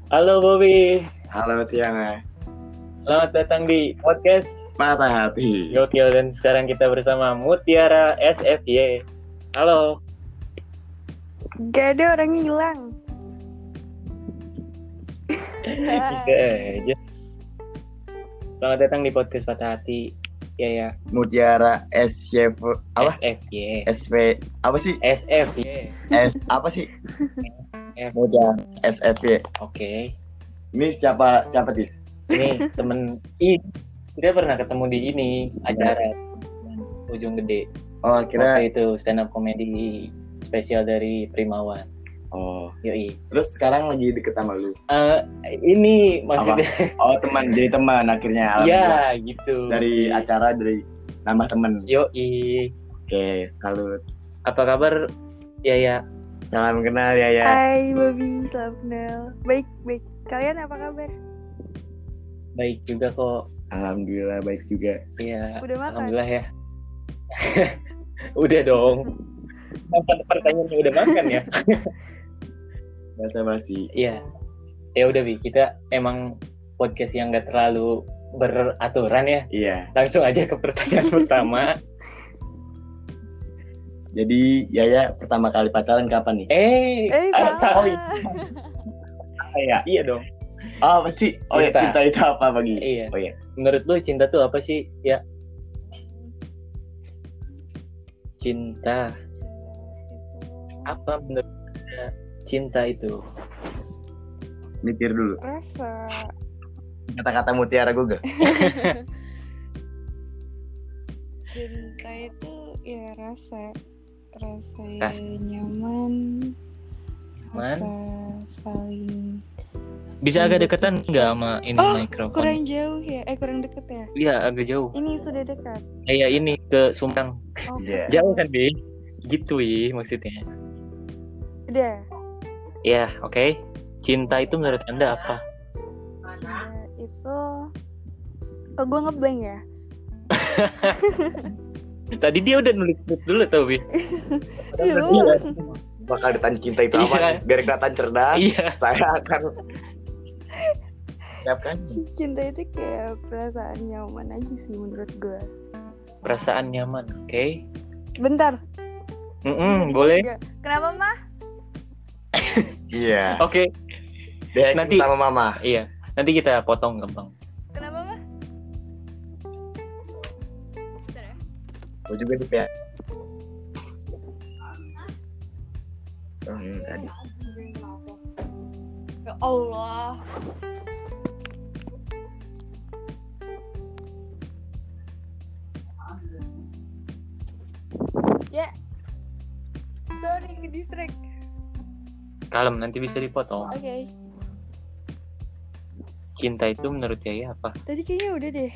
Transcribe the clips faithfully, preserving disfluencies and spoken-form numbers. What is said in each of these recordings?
Halo Bobby, Halo Tiana, selamat datang di podcast patah hati. Gokil dan sekarang kita bersama Mutiara S F Y. Halo. Gak ada orang hilang. Bisa aja. Selamat datang di podcast Patah Hati. Ya ya. Mutiara S Y F apa? S F Y. S V apa sih? S F Y. S apa sih? F. Mutiara S F Y. Oke. Ini siapa siapa Tis? Ini temen Ih, kita pernah ketemu di ini acara Ujung Gede. Oh kira. Waktu itu stand up comedy spesial dari Primawan. Oh. Yoi. Terus sekarang lagi deket sama lu. Uh, ini maksudnya. Oh teman, jadi teman akhirnya. Iya gitu. Dari acara dari nambah temen. Yoi. Oke, salut. Apa kabar? Ya ya. Salam kenal ya ya. Hai Bobby, salam kenal. Baik, baik. Kalian apa kabar? Baik juga kok. Alhamdulillah baik juga. Iya. Udah makan? Alhamdulillah ya. Udah dong. Apa pertanyaannya udah makan ya? Bahasa basi. Iya. Ya udah Bi, kita emang podcast yang gak terlalu beraturan ya. Iya. Langsung aja ke pertanyaan pertama. Jadi Yaya pertama kali pacaran kapan nih? Eh, Eh, ah, salah. oh, iya. Iya dong. Oh apa sih? Oh ya, Cinta. cinta itu apa bagi? Iya. Oh ya. Menurut lu cinta tuh apa sih? Ya. Cinta. Apa menurut Anda cinta itu? Mikir dulu. Rasa. Kata-kata mutiara gue gak? Cinta itu ya rasa. Rasa Rasa. nyaman. Nyaman. Rasa saling. Bisa agak deketan nggak sama ini Oh, mikrofon? kurang jauh ya? Eh, kurang deket ya? Iya agak jauh. Ini sudah dekat. Eh ya ini ke Sumbang. Oh, Iya. Jauh kan Bi? Gitu ya maksudnya. udah. Ya oke. Cinta itu menurut Anda apa? Cinta itu. Oh, gue ngeblank ya? Tadi dia udah nulis script dulu tau Bi. Iya. Bakal ditanya cinta itu Iya. apa? Biar kelihatan cerdas. Iya. Saya akan siapkan. Cinta itu kayak perasaan nyaman aja sih menurut gue. Perasaan nyaman. Oke. Bentar. Mm-mm, boleh. Enggak. Kenapa mah? Iya. Oke. Dia Nanti- sama mama. Iya. Nanti kita potong gampang. Kenapa mah? Bentar ya. Gue juga di P A. Oh, ini tadi. Ya Allah. Ya. Sorry ke distract. Kalem nanti bisa dipotong. Oke. Cinta itu menurut Yaya apa? Tadi kayaknya udah deh.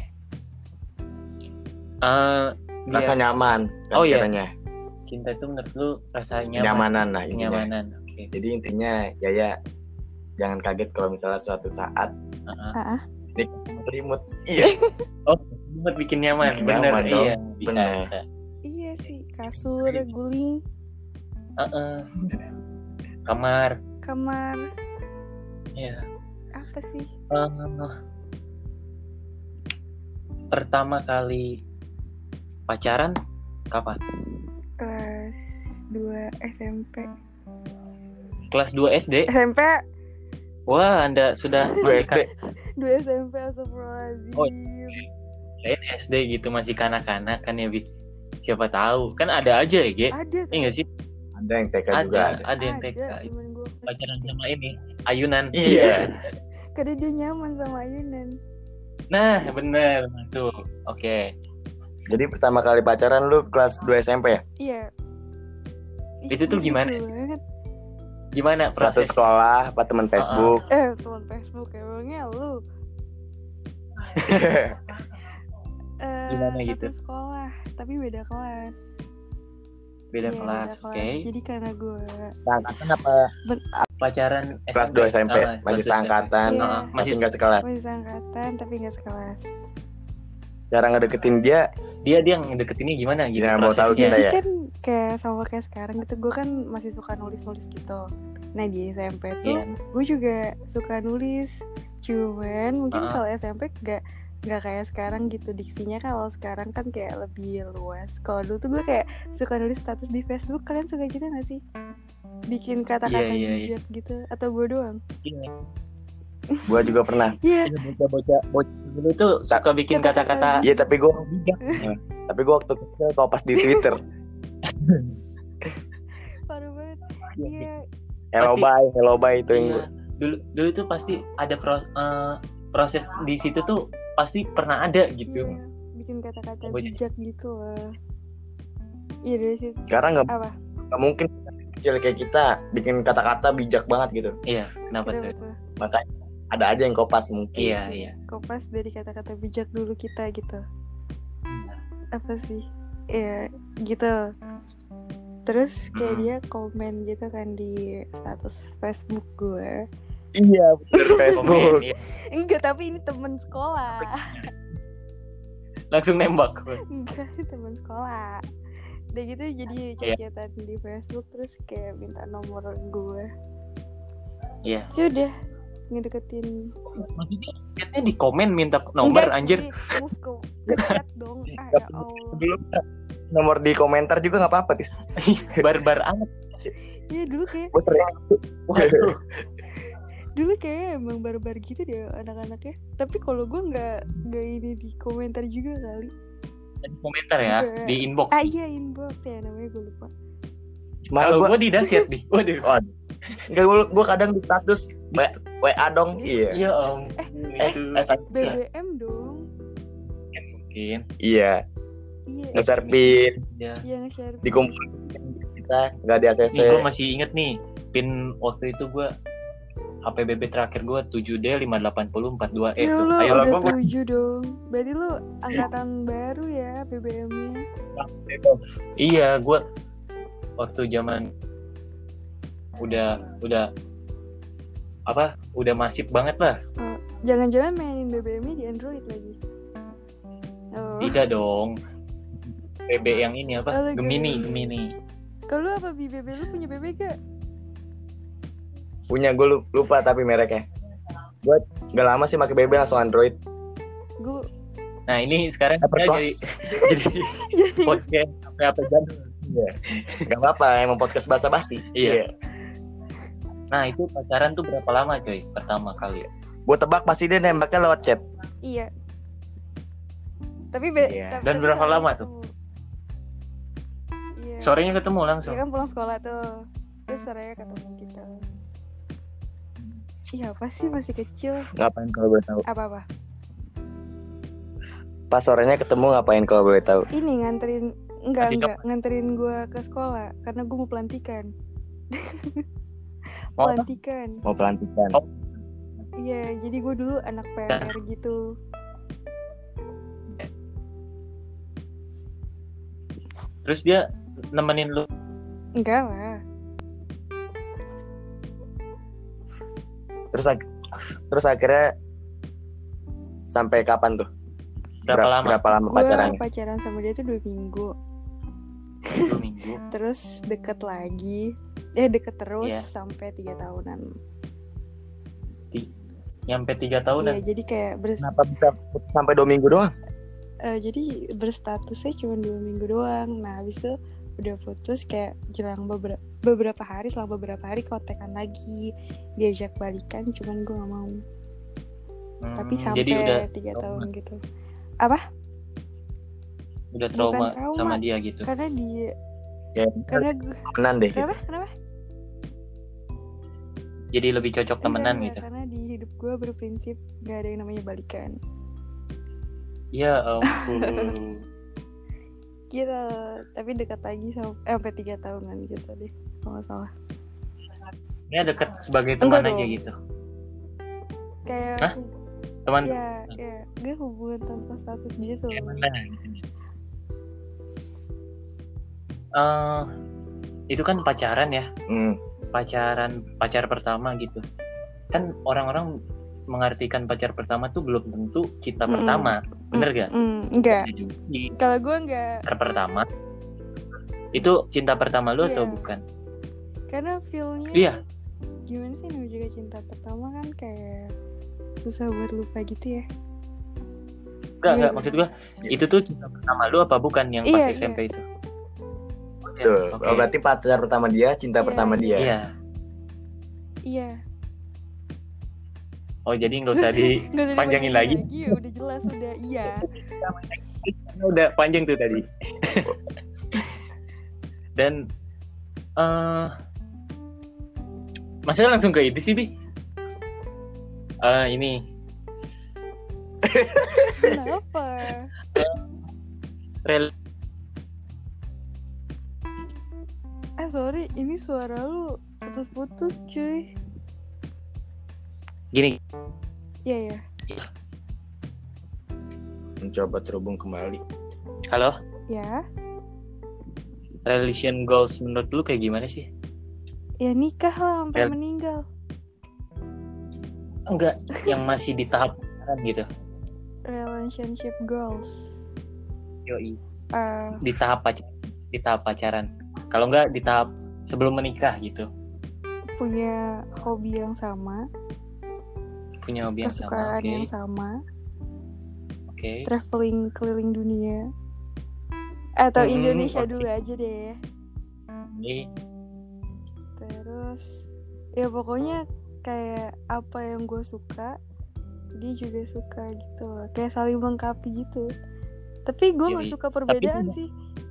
Eh, Rasa dia- nyaman. Kan Oh, iya. katanya. cinta itu menurut lu rasa nyaman. Kenyamanan lah intinya. Kenyamanan. Oke. Jadi intinya Yaya jangan kaget kalau misalnya suatu saat Heeh. Ah, nih selimut. Iya. Oh, buat bikin nyaman. Bikin Bener. nyaman dong. Iya, bisa Bener. bisa. iya sih, kasur, guling, Heeh. Kamar. kamar, Iya. apa sih? Eh, pertama kali pacaran kapan? Kelas dua S M P. Kelas dua S D? S M P Wah, Anda sudah Dua S D. dua S M P astagfirullahaladzim. Oh. Lain S D gitu, masih kanak-kanak kan ya, Bi? Siapa tahu. Kan ada aja ya, Ge? Ada Iya nggak sih? Ada yang T K juga Ada, ada. ada yang T K. temen gue Pacaran sama ini, ayunan. Iya. karena dia nyaman sama ayunan. Nah, bener, masuk. Oke. Jadi pertama kali pacaran lu kelas dua S M P ya? Iya. Itu tuh Ih, gimana? lucu banget. Gimana Satu proses? sekolah, apa teman Facebook? Eh, teman Facebook emangnya lu. Eh, Gimana satu gitu? sekolah, tapi beda kelas. Beda Iya, kelas, beda oke. Jadi karena gue Seangkatan apa? Pacaran Kelas dua S M P, Ah, masih kelas dua seangkatan, Iya. Ah, masih masih nggak sekelas. masih seangkatan tapi nggak sekelas. Cara ngedeketin dia, dia dia ngedeketinnya gimana gitu Ya, mau tahu prosesnya. kita Jadi ya? kan kayak sama kayak sekarang gitu, gue kan masih suka nulis-nulis gitu. Nah di S M P tuh Iya. gue juga suka nulis. Cuman mungkin Ah. kalau S M P gak nggak kayak sekarang gitu diksinya. Kalau sekarang kan kayak lebih luas. Kalau dulu tuh gue kayak suka nulis status di Facebook. Kalian suka gitu nggak sih? Bikin kata-kata Iya, iya, iya. bijak gitu. Atau gue doang? Iya. Gue juga pernah. Iya. Bocah-bocah bocah dulu tuh suka bikin Kata-kata kata-kata Iya tapi gue bijak. tapi gue waktu kecil kopas di Twitter. Parah banget. Iya. Hello Pasti- bye, hello bye itu yang Iya. gua- Dulu dulu tuh pasti ada pros- eh, proses di situ tuh pasti pernah ada gitu. Iya. Bikin kata-kata Bocah. bijak gitu loh. Iya dari situ. Sekarang nggak Apa? nggak mungkin kecil kayak kita bikin kata-kata bijak banget gitu. Iya, kenapa Kenapa tuh? tuh? Makanya ada aja yang kopas mungkin. Iya, iya. Kopas dari kata-kata bijak dulu kita gitu. Apa sih? Ya gitu. Terus kayak Hmm. dia komen gitu kan di status Facebook gue. Iya, bener Komen, Facebook. iya. Enggak, tapi ini temen sekolah. Langsung nembak. Enggak, temen sekolah. Udah gitu jadi Iya. chat-chatan di Facebook terus kayak minta nomor gue. Iya. Sudah ngedeketin. Maksudnya chatnya di komen minta nomor Enggak, anjir. sih, move ke ke chat dong. Ah ya Allah. Dulu nomor di komentar juga nggak apa-apa tis. Barbar amat. Iya dulu kayak Gue sering. Waduh. dulu kayak emang barbar gitu deh anak-anaknya. Tapi kalau gue nggak nggak ini di komentar juga kali. Di komentar ya, Enggak. di inbox. Ah iya inbox ya namanya gue lupa. Malah Kalau gue gue di dasyat di. Waduh. nggak gue gue kadang di status W WA dong. Iya. Iya om. Eh, Itu eh, B B M dong. mungkin. Iya. Iya. Nge-share pin, Ya. Yang share. dikumpulin kita nggak di A C C. Nih gue masih inget nih pin waktu itu gue H P B B terakhir gue tujuh D lima delapan nol empat dua E Ya tuh. lo Ayo lah, udah gua- tujuh dong. Berarti lo angkatan baru ya B B M-nya. Iya, gue waktu zaman udah udah apa? Udah masif banget lah. Oh, jangan-jangan mainin B B M-nya di Android lagi. Oh. Tidak dong. B B yang ini apa? Oh, Gemini, Gemini. Gemini. Kalau lu apa B B B lu punya B B gak? Punya gue lupa tapi mereknya. Gue nggak lama sih pakai B B langsung Android. Gue Nah ini sekarang kita Applecross. jadi jadi podcast apa apa jadul. Iya. Gak apa-apa, emang podcast basa-basi. Iya. Nah itu pacaran tuh berapa lama coy? Pertama kali. Gue tebak pasti dia nembaknya lewat chat. iya. Tapi be- Iya. tapi Dan tapi berapa sorenya lama tuh? ketemu. Iya. Sorenya ketemu Iya langsung. kan pulang sekolah tuh. Terus sorenya ketemu kita. Iya apa sih masih kecil? Ngapain kalau boleh tahu? Apa-apa? Pas sorenya ketemu ngapain kalau boleh tahu? Ini nganterin enggak Kasih enggak nganterin gue ke sekolah karena gue mau pelantikan. Mau apa? pelantikan. Mau pelantikan. Oh. Iya, jadi gue dulu anak P M R gitu. Terus dia nemenin lu. Enggak lah. Terus ak- terus akhirnya sampai kapan tuh? Berapa lama? Berapa lama Gue pacarannya? pacaran sama dia tuh dua minggu. Dua minggu. Terus deket lagi. Eh deket terus Iya. sampai tiga tahunan. Nyampe tiga Iya, tahunan. jadi kayak ber, Kenapa bisa sampai dua minggu doang? eh, jadi berstatusnya cuma dua minggu doang. Nah, habis itu udah putus kayak jelang beberapa beberapa hari, selang beberapa hari kontekan lagi, diajak balikan, cuman gue nggak mau. Hmm, Tapi sampai jadi udah tiga trauma. tahun gitu. udah trauma, Bukan trauma. sama dia gitu. Karena dia, Ya, karena gue, temenan deh gitu. kenapa? Kenapa? Jadi lebih cocok temenan Enggak, gitu. enggak, karena di hidup gue berprinsip gak ada yang namanya balikan. Ya ampun. Gitu, tapi dekat lagi sama, eh, sampai tiga tahunan gitu deh, kalau nggak salah. Ini deket sebagai teman Enggak aja dong. gitu. Kayak, Hah? Teman ya, ya, gak hubungan tanpa status gitu. kayak mana gitu. Eh, itu kan pacaran ya. Hmm. Pacaran pacar pertama gitu. Kan orang-orang mengartikan pacar pertama tuh belum tentu cinta Mm-mm. pertama. Bener gak? Mm, enggak. Jadi Kalau gue enggak, pacar pertama itu cinta pertama lu atau Iya. bukan? karena feel-nya Iya. gimana sih namanya juga cinta pertama kan kayak susah buat lupa gitu ya. Enggak, Iya, enggak. iya. Maksud gua, itu tuh cinta pertama lu apa bukan yang pas Iya, S M P itu? Betul. Oke. Oh, berarti pacar pertama dia, cinta Iya, pertama iya. dia. Iya. Iya. Oh, jadi nggak usah Nggak usah dipanjangin lagi. lagi. Udah jelas udah iya. Udah panjang tuh tadi. Dan eh Masa langsung ke itu sih, Bi? Eh ini Kenapa? rel Eh sorry, ini suara lu putus-putus cuy. gini. Iya ya. Mencoba terhubung kembali. Halo? Ya. Relation goals menurut lu kayak gimana sih? Ya nikah lah sampai Rel- meninggal. Enggak, yang masih di tahap pacaran gitu. Relationship goals. Yoi. Eh, Di tahap pacaran, di tahap pacaran. Kalau enggak di tahap sebelum menikah gitu. punya hobi yang sama, Punya hobi yang sama, kesukaan oke. yang sama, Oke. traveling keliling dunia. Atau Hmm, Indonesia oke. dulu aja deh. Ini Terus ya pokoknya kayak apa yang gue suka dia juga suka gitu loh. Kayak saling melengkapi gitu. Tapi gue nggak Yoi. suka perbedaan Tapi- sih.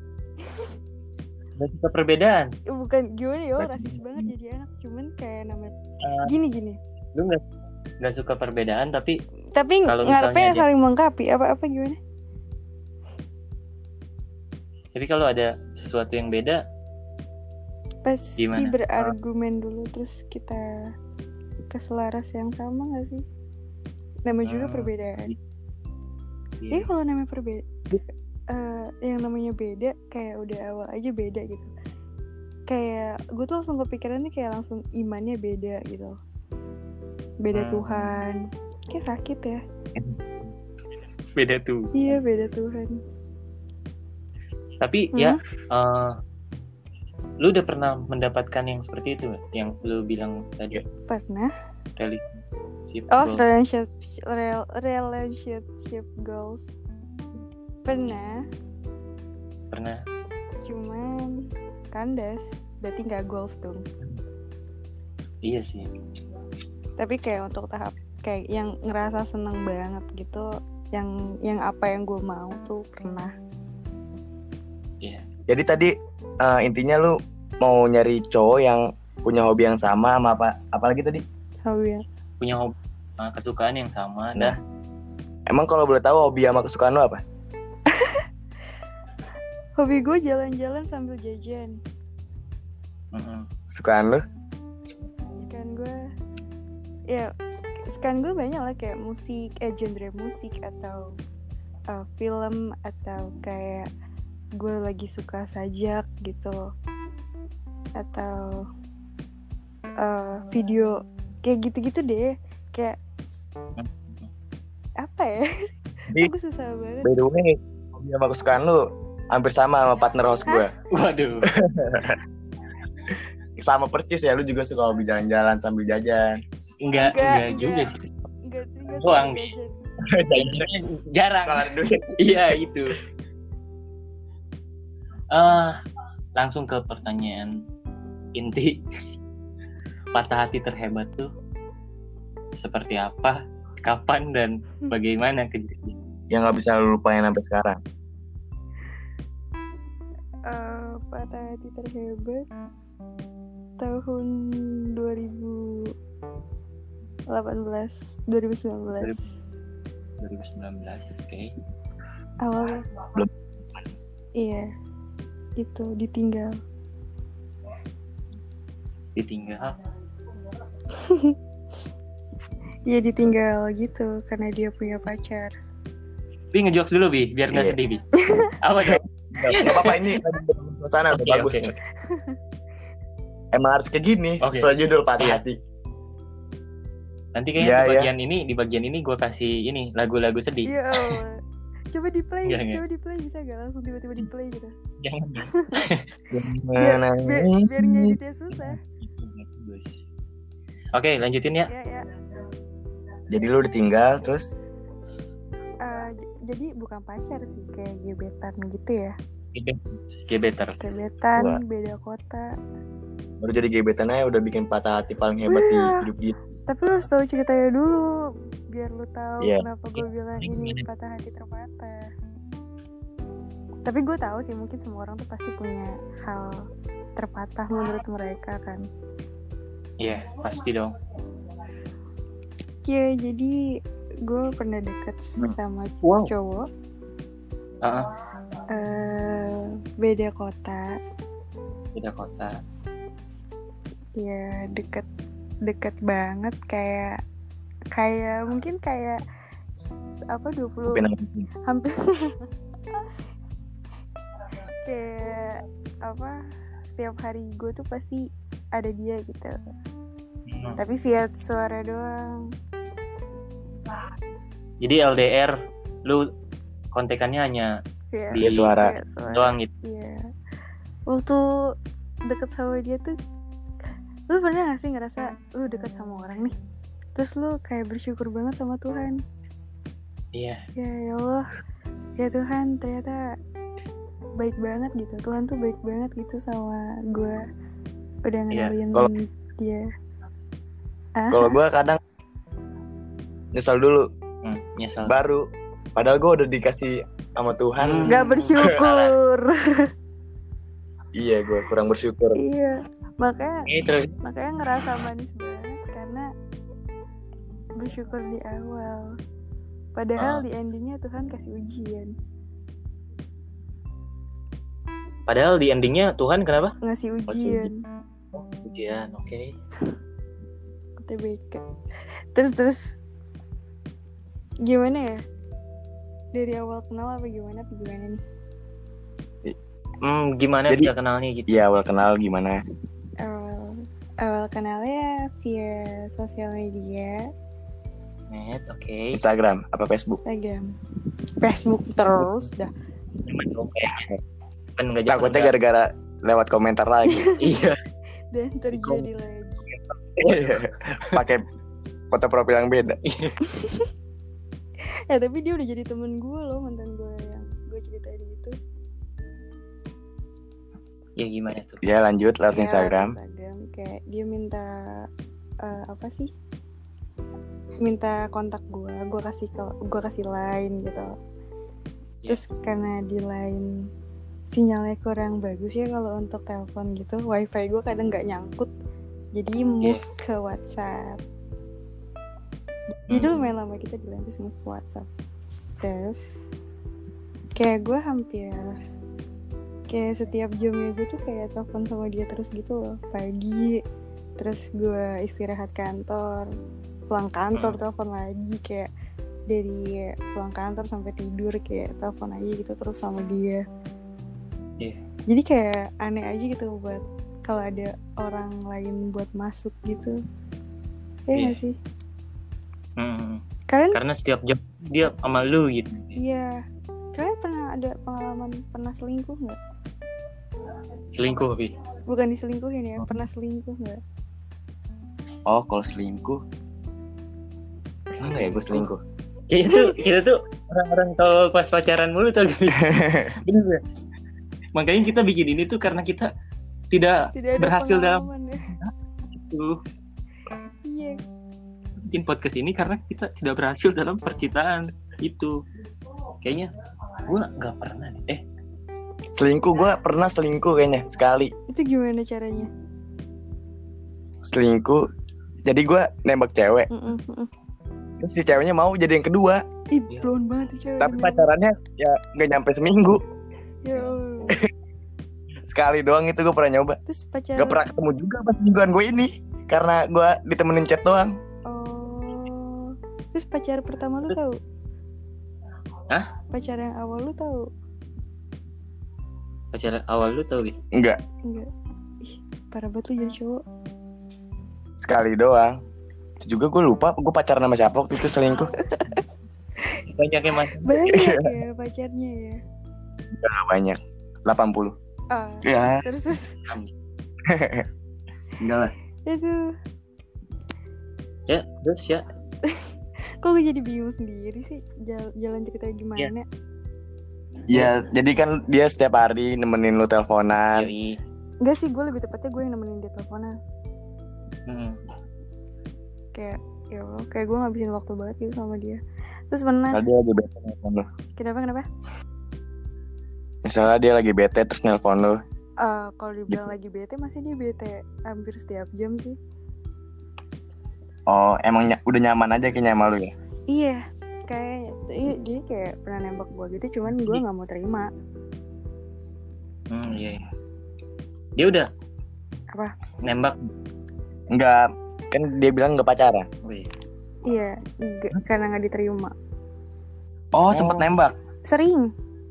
Gak suka perbedaan. Ya, bukan gimana ya, oh, Berarti- rasis banget jadi anak. Cuman kayak namanya Eh, gini gini. lu nggak nggak suka perbedaan tapi Tapi Kalau ngarepnya misalnya dia- saling melengkapi. Apa apa gimana? tapi kalau ada sesuatu yang beda Pasti Gimana? berargumen dulu terus kita keselaras yang sama nggak sih? Namanya juga Hmm, perbedaan. iya. Jadi kalau namanya perbeda, eh, yang namanya beda kayak udah awal aja beda gitu. Kayak gue tuh langsung kepikirannya kayak langsung imannya beda gitu. Beda Hmm. Tuhan. Kayak sakit ya. beda tuh. Iya beda Tuhan. Tapi Hmm? ya eh, lu udah pernah mendapatkan yang seperti itu nggak? Yang lu bilang tadi Pernah? relationship Oh goals. relationship rel- relationship goals. Pernah. Pernah. Cuman kandas. Berarti nggak goals dong. Iya sih. Tapi kayak untuk tahap kayak yang ngerasa seneng banget gitu, yang yang apa yang gue mau tuh pernah. Iya. Jadi tadi eh, intinya lu mau nyari cowok yang punya hobi yang sama sama apa? Apalagi tadi? Hobi ya. Punya hobi, eh, kesukaan yang sama Nah. dan Emang kalau boleh tahu hobi sama kesukaan lu apa? Hobi gue jalan-jalan sambil jajan. mm-mm. Kesukaan lu? Sekarang gue ya sekarang gue banyak lah kayak musik, eh genre musik atau uh, film atau kayak gue lagi suka sajak gitu atau uh, video kayak gitu-gitu deh, kayak apa ya? Jadi, Aku susah banget. by the way, hobi sama kesukaan lu hampir sama sama partner host gue. Waduh. Sama persis ya, lu juga suka hobi jalan-jalan sambil jajan. Enggak, Enggak, enggak juga enggak. sih. Enggak enggak Doang. sambil jajan. Jajannya jarang. Kalau ada duit. Iya itu. Ah, langsung ke pertanyaan inti. Patah hati terhebat tuh seperti apa, kapan dan bagaimana kejadian? Yang nggak bisa lu lupain sampai sekarang. Eh, patah hati terhebat tahun dua ribu delapan belas dua ribu sembilan belas dua ribu sembilan belas, oke. awal. Belum. Iya, itu ditinggal. Ditinggal. Iya ditinggal gitu karena dia punya pacar. Bi ngejokes dulu Bi, biar nggak Iya. sedih Bi. Apa dong? Gak apa-apa, ini lagi dalam suasana udah Oke, bagus oke. nih. Emang harus kayak gini, Oke. sesuai judul patah Iya. hati. Nanti kayaknya Iya, di iya. bagian ini, di bagian ini gue kasih ini lagu-lagu sedih. Iya. Allah. Coba di play, Enggak, enggak. coba di play bisa gak langsung tiba-tiba di play gitu. Jangan. Biar, biar, biar ngeditnya susah. Bagus. Oke, lanjutin ya. Ya ya. Jadi lu ditinggal terus Eh, j- jadi bukan pacar sih, kayak gebetan gitu ya. Gebeters. Gebetan, Wah. beda kota. baru jadi gebetan aja udah bikin patah hati paling hebat di Wah. hidup dia. Tapi lu harus tahu ceritanya dulu, biar lu tahu Iya. kenapa gue bilang ini patah hati terpatah. Tapi gue tahu sih, mungkin semua orang tuh pasti punya hal terpatah menurut mereka kan. Iya, pasti dong. Ya jadi gue pernah deket sama Wow. cowok, Heeh, eh beda kota. beda kota. Ya deket deket banget, kayak kayak mungkin kayak apa dua puluh Pinang. hampir kayak apa, setiap hari gue tuh pasti ada dia gitu, Hmm. tapi via suara doang. Jadi L D R lu kontekannya hanya Via, di Via suara. via suara. doang gitu. Iya. Waktu deket sama dia tuh, lu pernah gak sih ngerasa lu deket sama orang nih, terus lu kayak bersyukur banget sama Tuhan? Iya. Ya ya Allah, ya Tuhan, ternyata baik banget gitu. Tuhan tuh baik banget gitu sama gue, udah ngenalin Kalau- dia. Ah, Kalau gue kadang nyesal dulu Hmm, nyesel. baru padahal gue udah dikasih sama Tuhan. nggak bersyukur. Iya, gue kurang bersyukur. Iya, makanya Eh, terus makanya ngerasa manis banget karena bersyukur di awal. Padahal Ah. di endingnya Tuhan kasih ujian, padahal di endingnya Tuhan kenapa? ngasih ujian. Ujian, oke. U T B K. Terus terus gimana ya? Dari awal kenal apa gimana? Apa gimana nih? Hmm, gimana Jadi- bisa kenalnya gitu? Iya, awal kenal gimana? Awal awal kenalnya via sosial media, Net, oke. Instagram apa Facebook? Instagram, Facebook terus dah. Cuman dong kayaknya. Kan nggak Takutnya nggak- gara-gara lewat komentar lagi. Iya. Dan terjadi lagi. Pakai foto profil yang beda. Eh tapi dia udah jadi temen gue loh, mantan gue yang gue ceritain itu. Ya gimana tuh? Ya lanjut lewat Ya, Instagram. Instagram kayak dia minta eh, apa sih? Minta kontak gue, gue kasih ke, gue kasih line gitu. Terus karena di line sinyalnya kurang bagus ya kalau untuk telepon gitu, wifi gue kadang nggak nyangkut, jadi move ke WhatsApp. Jadi Hmm. lumayan lama kita di line, terus move ke WhatsApp. Terus kayak gue hampir kayak setiap jamnya gue tuh kayak telepon sama dia terus gitu loh, pagi, terus gue istirahat kantor, pulang kantor telepon lagi, kayak dari pulang kantor sampai tidur kayak telepon aja gitu terus sama dia. Iya. Jadi kayak aneh aja gitu buat kalau ada orang lain buat masuk gitu. Ya Iya. nggak sih? Hmm. Kalian Karena setiap jam dia sama lu gitu. iya. Kalian pernah ada pengalaman pernah selingkuh nggak? Selingkuh, Bi. Bukan diselingkuhin ya, pernah selingkuh nggak? Oh, kalau selingkuh. Pernah nggak ya gue selingkuh? Kayaknya tuh kita tuh orang-orang kalau pas pacaran mulu tuh. Bener ya? Makanya kita bikin ini tuh karena kita tidak, Tidak ada berhasil dalam pengalaman ya. itu. Iya. Bikin podcast ini karena kita tidak berhasil dalam percintaan itu. Kayaknya gua nggak pernah deh. Eh, Selingkuh gue pernah selingkuh kayaknya sekali. Itu gimana caranya? Selingkuh. Jadi gue nembak cewek. Mm-mm, mm-mm. Terus si ceweknya mau jadi yang kedua. Ih, Iya. blown banget tuh cewek. Tapi demi pacarannya ya nggak nyampe seminggu. Allah. Ya Allah. Sekali doang itu gue pernah nyoba. Terus pacaran. Gak pernah ketemu juga pas mingguan gue ini. Karena gue ditemenin chat doang. Oh. Terus pacar pertama lu Terus- tahu? Hah? Pacar yang awal lu tahu? pacaran awal lu tau gitu? Enggak. Enggak. Ih, parah banget lu jadi cowok. Sekali doang. Itu juga gue lupa gue pacaran sama siapa waktu itu selingkuh. Banyak yang macam. Banyak ya pacarnya ya. Gak banyak. delapan puluh. Ah. Ya. Terus terus Enggak lah. itu Ya, terus ya. Kok gue jadi bingung sendiri sih Jal- jalan ceritanya gimana? Ya, jadi kan dia setiap hari nemenin lu teleponan. Yoi. Enggak sih, gue lebih tepatnya gue yang nemenin dia teleponan. Hmm. Kayak ya Allah, kayak gue ngabisin waktu banget gitu sama dia. Terus pernah Kalau dia lagi bete nelfon lu. kenapa kenapa? Misalnya dia lagi bete terus nelpon lu. Uh, kalau dibilang lagi bete, masih dia bete hampir setiap jam sih. Oh, emang ny- udah nyaman aja kayaknya sama lu ya? Iya, kayak iya, dia kayak pernah nembak gue gitu, cuman gue nggak mau terima. Hmm, iya, iya. Dia udah Apa? nembak. Enggak, kan dia bilang enggak pacaran. Oh, iya. Iya, nggak- karena nggak diterima. Oh, Oh. sempet nembak. Sering,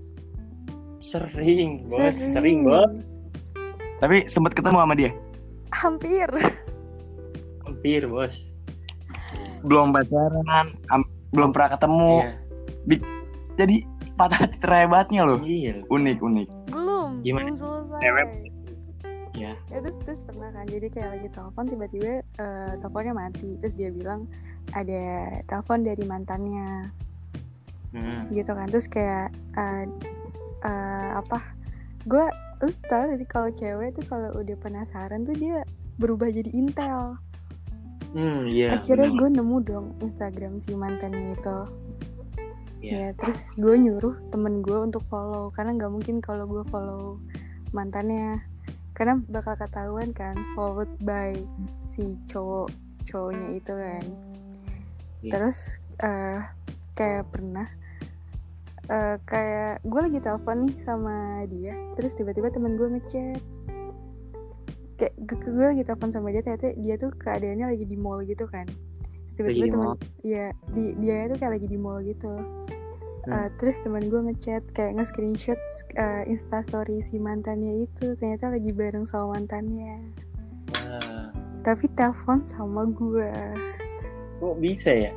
Sering, bos. sering, Sering, bos. Tapi sempet ketemu sama dia. hampir. Hampir, bos. Belum pacaran, am- belum pernah ketemu. Iya. Jadi patah hati terhebatnya loh. Iya. Unik, unik. Belum, Gimana? belum selesai. Cewek. Ya. Ya terus terus pernah kan, jadi kayak lagi telepon tiba-tiba eh, teleponnya mati, terus dia bilang ada telepon dari mantannya Hmm. gitu kan, terus kayak eh, eh, apa, gue lu tau gak sih kalau cewek tuh kalau udah penasaran tuh dia berubah jadi intel. Hmm, iya. Akhirnya bener. gue nemu dong Instagram si mantannya itu. Iya. Ya terus gue nyuruh temen gue untuk follow, karena nggak mungkin kalau gue follow mantannya, karena bakal ketahuan kan followed by si cowok cowoknya itu kan. Iya. Terus eh kayak pernah eh kayak gue lagi telepon nih sama dia, terus tiba-tiba temen gue ngechat, kayak gue, gue lagi telepon sama dia, ternyata dia tuh keadaannya lagi di mall gitu kan. Terus tiba-tiba Lagi di temen mall? ya di, dia tuh kayak lagi di mall gitu. Uh, terus teman gue ngechat kayak nge-screenshot uh, instastory si mantannya itu, ternyata lagi bareng sama mantannya, Wah, tapi telepon sama gue. kok bisa ya?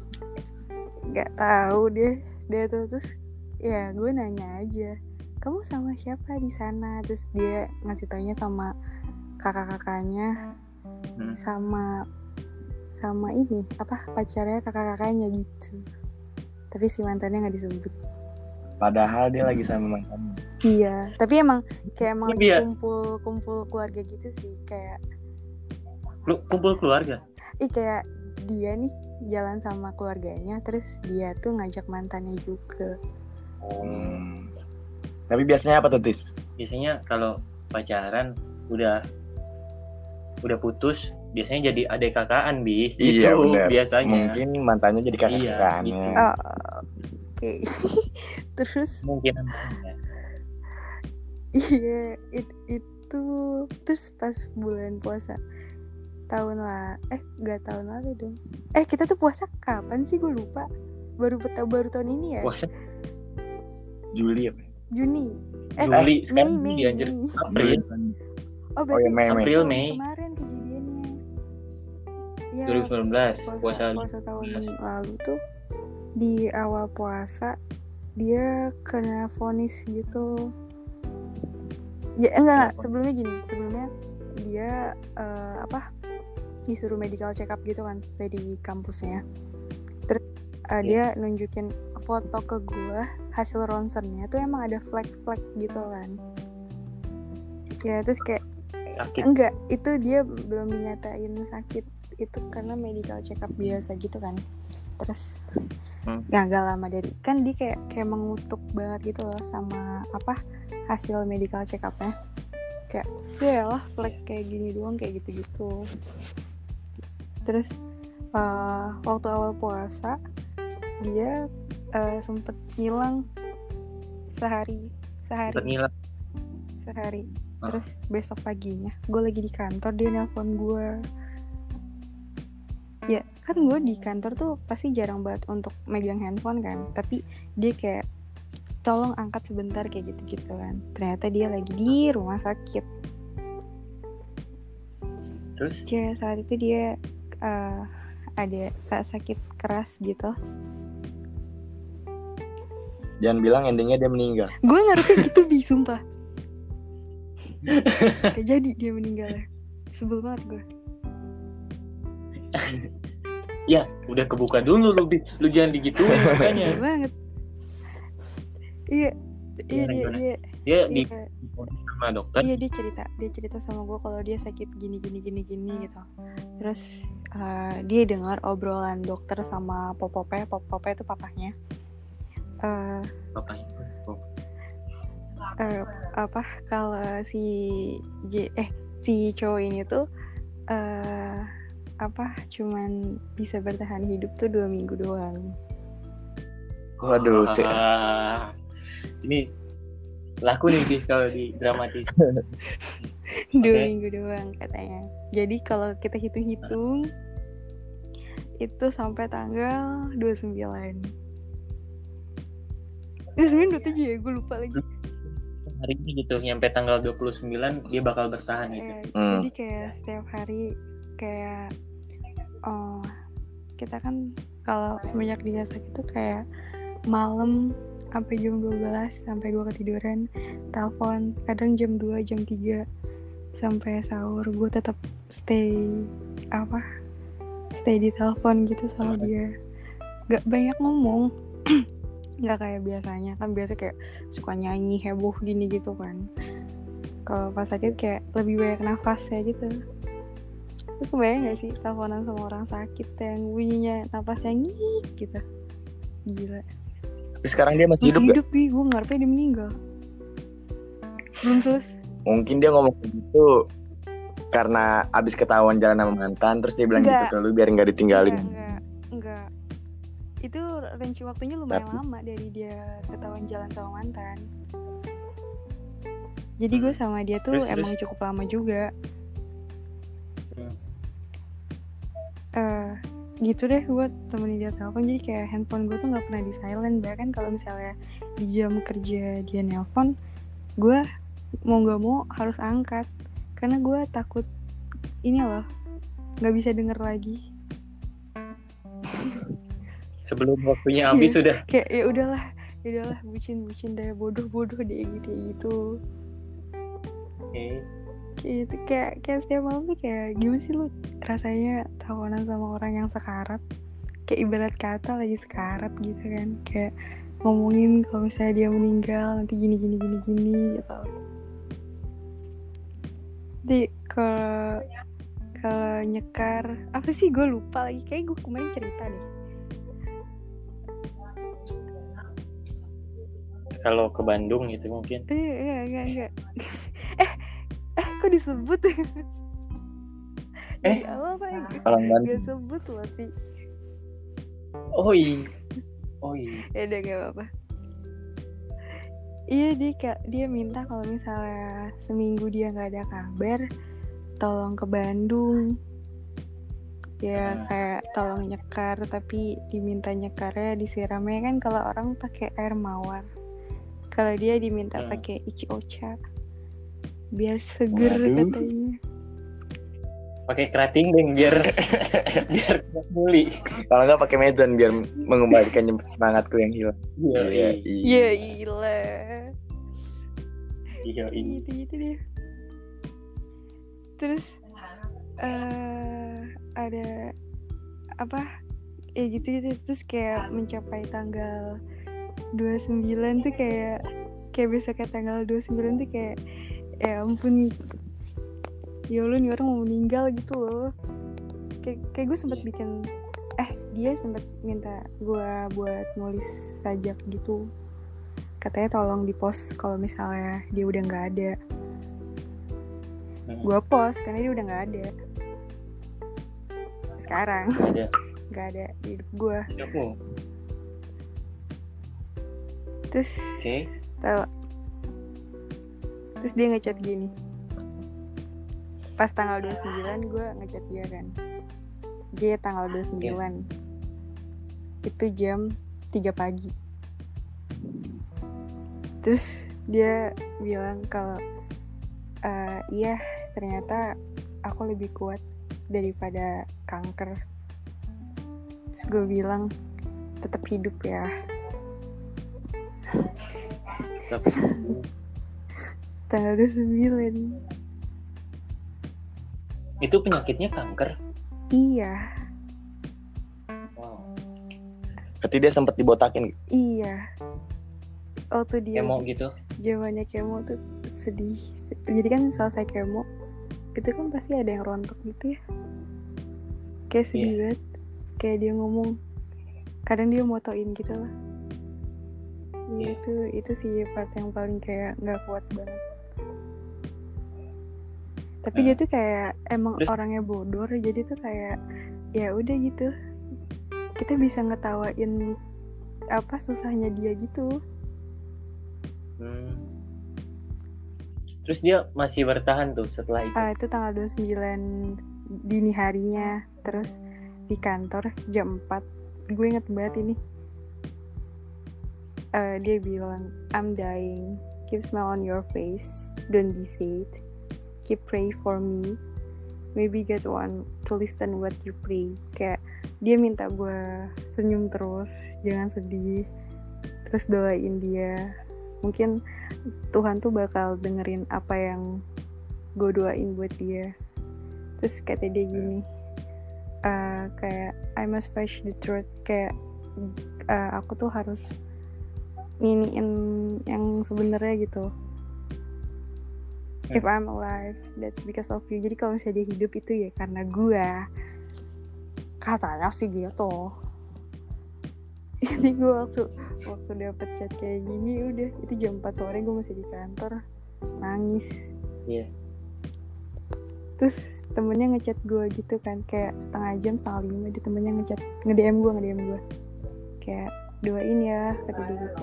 Nggak tahu deh dia tuh. Terus ya gue nanya aja, kamu sama siapa di sana? Terus dia ngasih taunya sama kakak-kakaknya, Hmm. sama sama ini apa pacarnya kakak-kakaknya gitu. Tapi si mantannya nggak disebut. Padahal dia lagi sama mantannya. Iya, tapi emang kayak emang lagi Iya. kumpul-kumpul keluarga gitu sih, kayak Lu kumpul keluarga? ih kayak dia nih jalan sama keluarganya, terus dia tuh ngajak mantannya juga. Hmm. Tapi biasanya apa tuh, Tis? Biasanya kalau pacaran udah udah putus, biasanya jadi adek kakaan, Bi. Iya, Itu bener. biasanya. Mungkin mantannya jadi kakak Iya, kakaknya. gitu. Oh, oke. Terus Mungkin. iya it- itu terus pas bulan puasa tahun lah eh nggak tahun lalu dong. Eh kita tuh puasa kapan sih, gue lupa. Baru baru tahun ini ya. Puasa Juli apa? Juni. Eh Juli, Mei sekarang Mei Juli, anjir. Mei. April. Oh Oh berarti ya, Mei, Mei. April, tahun Mei. kemarin kejadiannya. Ya, dua ribu sembilan belas puasa, puasa. puasa tahun belas. lalu tuh di awal puasa dia kena vonis gitu. Ya enggak, Kenapa? sebelumnya gini, sebelumnya dia eh, apa disuruh medical check up gitu kan dari kampusnya. Terus uh, dia nunjukin foto ke gue hasil ronsennya tuh emang ada flek-flek gitu kan. Ya terus kayak Sakit. enggak, itu dia belum dinyatain sakit, itu karena medical check up biasa gitu kan. Terus Hmm. ya gak lama dari kan dia kayak kayak mengutuk banget gitu loh sama apa hasil medical check upnya, kayak ya lah flek kayak gini doang kayak gitu-gitu. Terus uh, waktu awal puasa dia uh, sempet ngilang sehari sehari Sempet ngilang. sehari. Ah. Terus besok paginya gue lagi di kantor, dia nelpon gue. Ya kan gue di kantor tuh pasti jarang banget untuk megang handphone kan, tapi dia kayak tolong angkat sebentar kayak gitu-gitu kan. Ternyata dia lagi di rumah sakit. Terus? Ya saat itu dia uh, ada sakit keras gitu. Jangan bilang endingnya dia meninggal. Gue ngerti gitu bi, sumpah. Kayak jadi dia meninggal ya. Sebel banget gue. Ya, udah kebuka dulu lu, Bi. Lu jangan digituin makanya. Sedih banget. Iya, iya Gimana, dia gimana? dia Dia di iya. sama dokter. Iya dia cerita, dia cerita sama gue kalau dia sakit gini gini gini gini gitu. Terus uh, dia dengar obrolan dokter sama Popope, Popope itu papahnya. Uh, Apa itu? Oh. uh, apa kalau si J, eh si cowok ini tuh uh, apa cuman bisa bertahan hidup tuh dua minggu doang. Waduh, se- Ah, ini laku nih Bi, kalau di dramatis. Dua Oke. minggu doang katanya. Jadi kalau kita hitung-hitung itu sampai tanggal dua puluh sembilan. dua puluh sembilan, dua puluh tujuh ya, gue lupa lagi. Hari ini gitu, nyampe tanggal dua puluh sembilan dia bakal bertahan gitu. Eh, Hmm. Jadi kayak setiap hari kayak oh kita kan kalau semenjak dia sakit tuh kayak malam sampai jam dua belas sampai gue ketiduran telepon, kadang jam dua jam tiga sampai sahur gue tetap stay apa stay di telepon gitu sama Sama dia, gak banyak ngomong. Gak kayak biasanya kan, biasa kayak suka nyanyi heboh gini gitu kan. Kalau pas sakit kayak lebih banyak nafas ya gitu. Lu kebayang gak sih teleponan sama orang sakit yang bunyinya nafasnya ngik gitu, gila. tapi sekarang dia masih, Masih hidup gak? hidup nih, gue ngarepnya dia meninggal. Belum selesai. Mungkin dia ngomong gitu karena abis ketahuan jalan sama mantan, terus dia bilang Enggak. gitu ke lu biar nggak ditinggalin. Enggak, enggak, enggak. Itu range waktunya lumayan Tapi- lama dari dia ketahuan jalan sama mantan. Jadi gue sama dia tuh Terus, emang terus? cukup lama juga. Hmm. Eh, gitu deh, gue temenin dia telepon, jadi kayak handphone gue tuh nggak pernah di silent. Bahkan kalau misalnya di jam kerja dia nelpon, gue mau nggak mau harus angkat karena gue takut ini loh nggak bisa denger lagi. Sebelum waktunya habis sudah. Kayak ya udahlah, ya udahlah bucin bucin deh, bodoh bodoh deh gitu gitu. Oke. Kayak gitu, kayak kayak setiap malam tuh kayak gimana sih lu rasanya tawanan sama orang yang sekarat, kayak ibarat kata lagi sekarat gitu kan, kayak ngomongin kalau misalnya dia meninggal nanti gini gini gini gini gitu. Jadi kalau kalau nyekar apa sih, gue lupa lagi, kayak gue kemarin cerita deh. Kalau ke Bandung gitu mungkin. Eh enggak enggak enggak. eh eh kok disebut? Dari awal saya Orang Bandung. gak sebut loh sih. Oh iya. Oh iya. Ya udah gak apa-apa. Iya dia kayak dia minta kalau misalnya seminggu dia nggak ada kabar, tolong ke Bandung. Ya kayak tolong nyekar, tapi diminta nyekarnya disiramnya kan kalau orang pakai air mawar. Kalau dia diminta Hmm. pakai ichi ocha biar seger. Waduh. Katanya. Pakai kerating deh biar biar pulih. Kalau nggak pakai mezon biar mengembalikan semangatku yang hilang. Iya. Iya, Ya gila. Iya ini. Gitu-gitu deh. Terus uh, ada apa? Ya gitu-gitu, terus kayak mencapai tanggal dua puluh sembilan tuh kayak kayak besoknya tanggal dua puluh sembilan tuh kayak ya ampun, ya Allah nih orang mau meninggal gitu loh. Kayak kayak gue sempet bikin eh dia sempet minta gue buat nulis sajak gitu, katanya tolong di post kalau misalnya dia udah nggak ada. Hmm. Gue post karena dia udah nggak ada sekarang. Ada. Nggak ada di hidup gue. Aku. Terus Oke. tahu, terus dia ngechat gini pas tanggal dua puluh sembilan, gue ngechat dia kan, dia tanggal dua puluh sembilan itu jam tiga pagi. Terus dia bilang kalau uh, iya ternyata aku lebih kuat daripada kanker. Terus gue bilang tetap hidup ya. Tapi Tanggal dua puluh sembilan. itu penyakitnya kanker. Iya. Berarti dia sempet dibotakin. Iya. Waktu dia Kemo gitu. zamannya kemo tuh sedih. Jadi kan selesai kemo itu kan pasti ada yang rontok gitu ya. Kayak sedih Iya. banget. Kayak dia ngomong, kadang dia motoin gitu lah. Iya. Itu itu sih part yang paling kayak nggak kuat banget. Tapi Hmm. dia tuh kayak emang Terus? orangnya bodor, jadi tuh kayak ya udah gitu. Kita bisa ngetawain apa susahnya dia gitu. Hmm. Terus dia masih bertahan tuh setelah itu. Ah, itu tanggal dua puluh sembilan dini harinya. Terus di kantor jam empat. Gue inget banget ini. Eh, dia bilang, I'm dying. Keep smile on your face. Don't be sad. Keep pray for me. Maybe get one to listen what you pray. Kayak dia minta gue senyum terus, jangan sedih. Terus doain dia. Mungkin Tuhan tuh bakal dengerin apa yang gue doain buat dia. Terus kata dia gini, uh, kayak I must face the truth. Kayak uh, aku tuh harus nginiin yang sebenarnya gitu. If I'm alive, that's because of you. Jadi kalau misalnya dia hidup itu ya karena gue. Katanya sih gitu. Jadi gue waktu waktu dapet chat kayak gini, udah itu jam empat sore gue masih di kantor nangis. Iya. Terus temennya ngechat gue gitu kan, kayak setengah jam setengah lima dia temennya ngechat nge-D M gue nge-D M gue kayak doain ya kata dia gitu.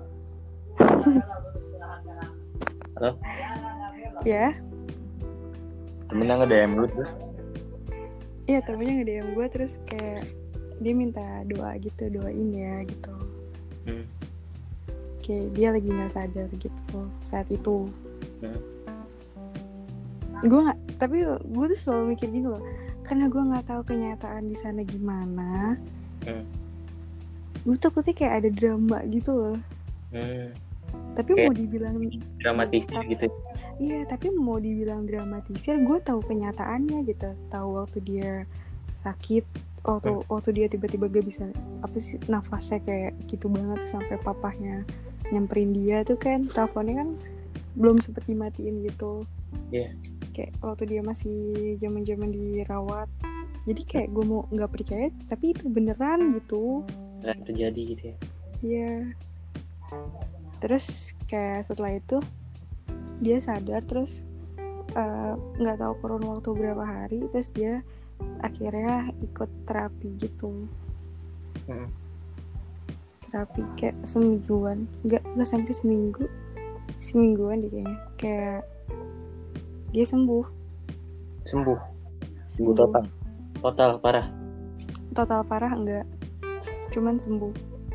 Halo. Ya. Temennya nge-D M lu terus? Iya temennya nge-D M gue terus kayak dia minta doa gitu, doain ya gitu. Hmm. Kayak dia lagi nggak sadar gitu saat itu. Hmm. Gue nggak, tapi gue tuh selalu mikir gini loh, karena gue nggak tahu kenyataan di sana gimana. Hmm. Gue takutnya kayak ada drama gitu loh. Hmm. Tapi Kayak mau dibilang dramatisir tapi- gitu. Iya, tapi mau dibilang dramatisir, gue tahu kenyataannya gitu. Tahu waktu dia sakit, waktu Hmm. waktu dia tiba-tiba gak bisa apa sih nafasnya kayak gitu banget tuh, sampai papahnya nyamperin dia tuh kan, teleponnya kan belum sempet dimatiin gitu. Iya. Kayak waktu dia masih zaman-zaman dirawat. Jadi kayak gue mau nggak percaya, tapi itu beneran gitu. Beneran terjadi gitu ya. Iya. Terus kayak setelah itu dia sadar, terus nggak uh, tahu kurun waktu berapa hari, terus dia akhirnya ikut terapi gitu. Hmm. Terapi kayak semingguan, nggak nggak sampai seminggu, semingguan deh kayaknya. Kayak dia sembuh. Sembuh. Sembuh total. Total parah. Total parah enggak, cuman sembuh.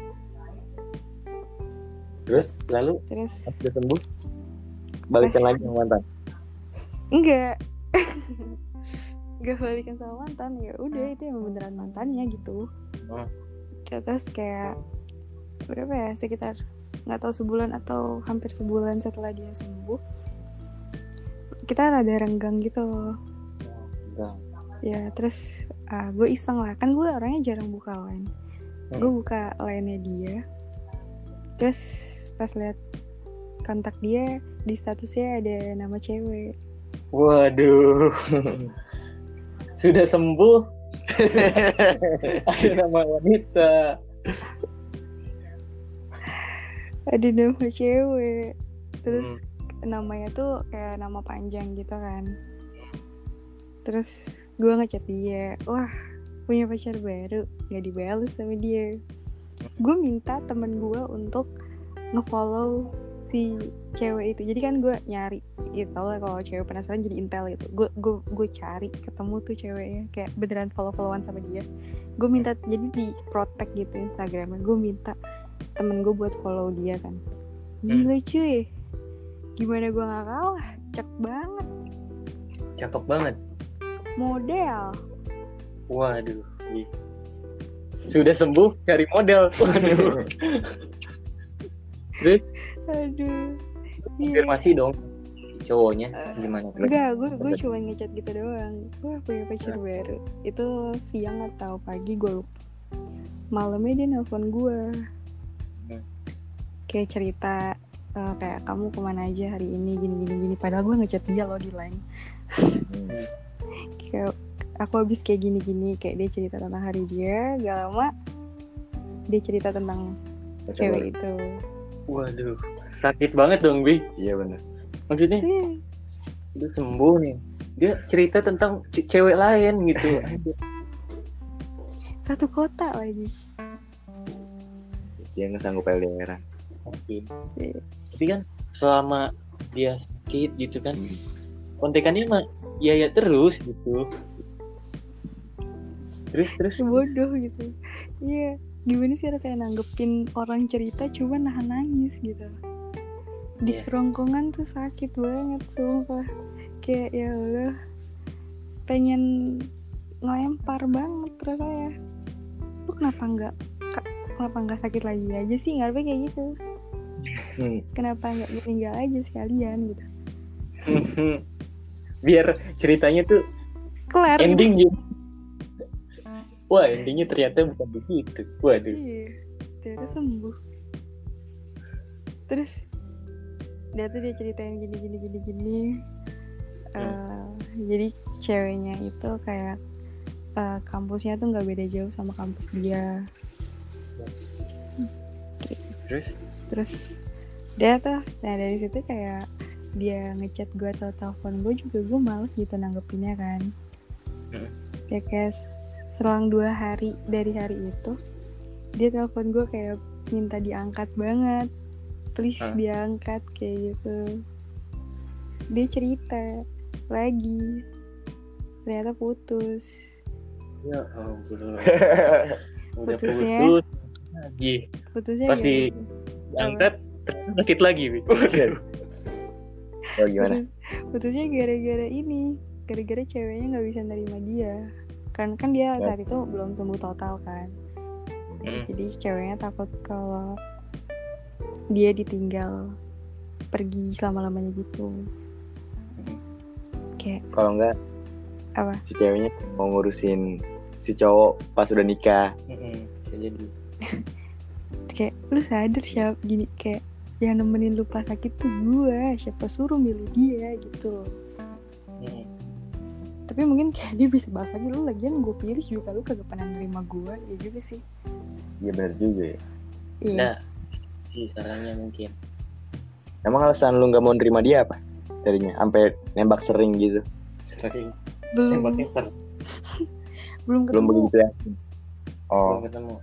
Terus Lalu Terus pas udah sembuh balikan Pas- lagi sama mantan. enggak enggak balikan sama mantan, ya udah itu emang beneran mantannya gitu. Hmm. Terus kayak berapa ya, sekitar nggak tahu sebulan atau hampir sebulan setelah dia sembuh, kita rada renggang gitu Enggak. ya. Terus uh, gue iseng lah, kan gue orangnya jarang buka line. Hmm. Gue buka line-nya dia, terus pas lihat kontak dia di statusnya ada nama cewek. Waduh. Sudah sembuh. Ada nama wanita. Ada nama cewek. Terus Hmm. namanya tuh kayak nama panjang gitu kan. Terus gue ngechat dia, wah punya pacar baru, gak dibalas sama dia. Gue minta temen gue untuk ngefollow si cewek itu. Jadi kan gue nyari, ya tau lah kalau cewek penasaran jadi intel gitu. Gue gue gue cari ketemu tuh ceweknya, kayak beneran follow-followan sama dia. Gue minta, jadi di protect gitu Instagramnya. Gue minta temen gue buat follow dia kan. Gila cuy, gimana gue gak kalah, cek banget, Cakep banget. model. Waduh. Sudah sembuh cari model. Waduh. Terus Aduh. konfirmasi dong cowoknya gimana tuh? Enggak, gue gue cuma ngechat gitu doang. Gue punya pacar baru. Itu siang atau pagi gue lupa. malamnya dia nelfon gue Hmm. kayak cerita eh, kayak kamu kemana aja hari ini gini gini gini, padahal gue ngechat dia loh di line. Hmm. Kayak aku habis kayak gini gini, kayak dia cerita tentang hari dia, gak lama dia cerita tentang Pacar cewek baru. itu. Waduh, sakit banget dong, Bi. Iya benar. Maksudnya Iya, udah sembuh nih, dia cerita tentang ce- cewek lain gitu. satu kota lagi. Dia nggak sanggup L D R-an. Sakit. Iya. Tapi kan selama dia sakit gitu kan, Hmm. kontekannya mah ya ya terus gitu. Terus terus. Bodoh gitu. Iya, gimana sih rasanya nanggepin orang cerita cuma nahan nangis gitu. Di Iya. kerongkongan tuh sakit banget sumpah. Kayak ya Allah, pengen ngelempar banget rasanya. Lu kenapa nggak ka- kenapa nggak sakit lagi aja sih, ngarepnya kayak gitu. Hmm. Kenapa nggak meninggal aja sekalian gitu. Biar ceritanya tuh Kelar gitu. ending gitu. Wah, endingnya ternyata bukan begitu. Waduh. Iya, ternyata sembuh. Terus dia tuh dia ceritain gini gini gini gini. Eh, jadi ceweknya itu kayak eh, kampusnya tuh nggak beda jauh sama kampus dia. Terus Terus dia tuh, nah dari situ kayak dia ngechat gue atau telepon gue juga gue males gitu nanggepinnya kan. Hmm. Kayak kayak selang dua hari dari hari itu dia telepon gue kayak minta diangkat banget, please Hah? diangkat kayak gitu. Dia cerita lagi ternyata putus. ya ampun. Udah Putusnya? putus lagi. Putusnya Pas di gara- diangkat ternyata sakit lagi, Bi. Waduh. Oh gimana? Putus, putusnya gara-gara ini, gara-gara ceweknya nggak bisa nerima dia. Kan kan dia Ya. saat itu belum sembuh total kan. Hmm. Jadi ceweknya takut kalau dia ditinggal pergi selama-lamanya gitu. Kayak Kalau enggak apa? si ceweknya mau ngurusin si cowok pas udah nikah. Mm-mm. Bisa jadi. Kayak lu sadar siapa gini, kayak yang nemenin lu pas sakit tuh gue, siapa suruh milih dia gitu. Mm. Tapi mungkin kayak dia bisa bahas lagi, lu lagian gue pilih juga lu kagak pernah nerima gue, ya juga sih. Iya benar juga ya. Iya. Nah, sih caranya mungkin. Emang alasan lu nggak mau nerima dia apa? Tadinya sampai nembak sering gitu. Sering belum tembaknya sering belum Belum ketemu. begitu ya? Oh, belum ketemu.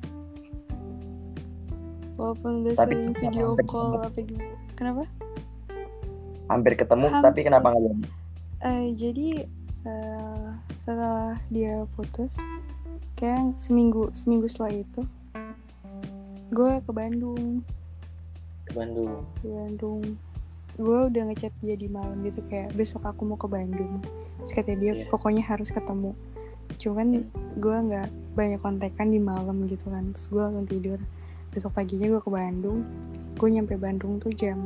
Walaupun udah Tapi sering kenapa video hampir call ketemu? apa gitu. Kenapa? hampir ketemu Hampir. tapi kenapa nggak jadi? Eh jadi eh, setelah dia putus, kayak seminggu seminggu setelah itu, gue ke Bandung. Ke Bandung. Ke Bandung. Gue udah ngechat dia di malam gitu kayak besok aku mau ke Bandung. Terus katanya dia Iya. pokoknya harus ketemu. Cuman gue nggak banyak kontekan di malam gitu kan. Terus gue langsung tidur. Besok paginya gue ke Bandung. Gue nyampe Bandung tuh jam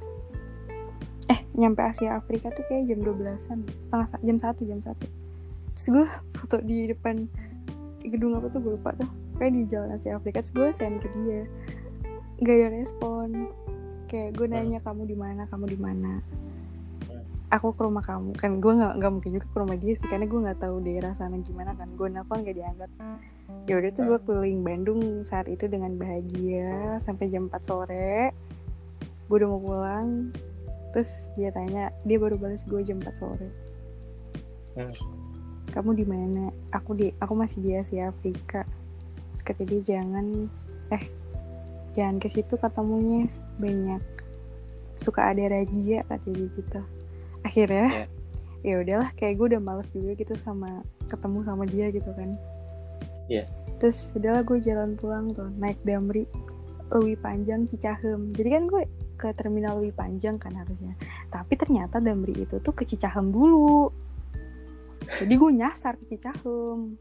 eh nyampe Asia Afrika tuh kayak jam dua belasan, setengah sa- jam satu jam satu. Terus gue foto di depan gedung apa tuh gue lupa tuh, kayak di Jalan Asia Afrika. Terus gue send ke dia, gak ada respon. Kayak gue nanya kamu di mana kamu di mana aku ke rumah kamu kan. Gue nggak nggak mungkin juga ke rumah dia sih, karena gue nggak tahu daerah sana gimana kan. Gue nelfon gak diangkat. Ya udah tuh gue keliling Bandung saat itu dengan bahagia sampai jam empat sore. Gue udah mau pulang. Terus dia tanya, dia baru balas gue jam empat sore. Hmm. Kamu di mana? Aku di aku masih di Asia Afrika. Terus kata dia jangan eh jangan ke situ ketemunya, banyak suka ada razia kata dia gitu. Akhirnya ya udahlah, kayak gue udah males juga gitu sama ketemu sama dia gitu kan. Iya. Terus udahlah gue jalan pulang tuh naik Damri Lewi Panjang Cicahem. Jadi kan gue ke terminal Lewi Panjang kan harusnya, tapi ternyata Damri itu tuh ke Cicahem dulu. Jadi gue nyasar ke Cicahem.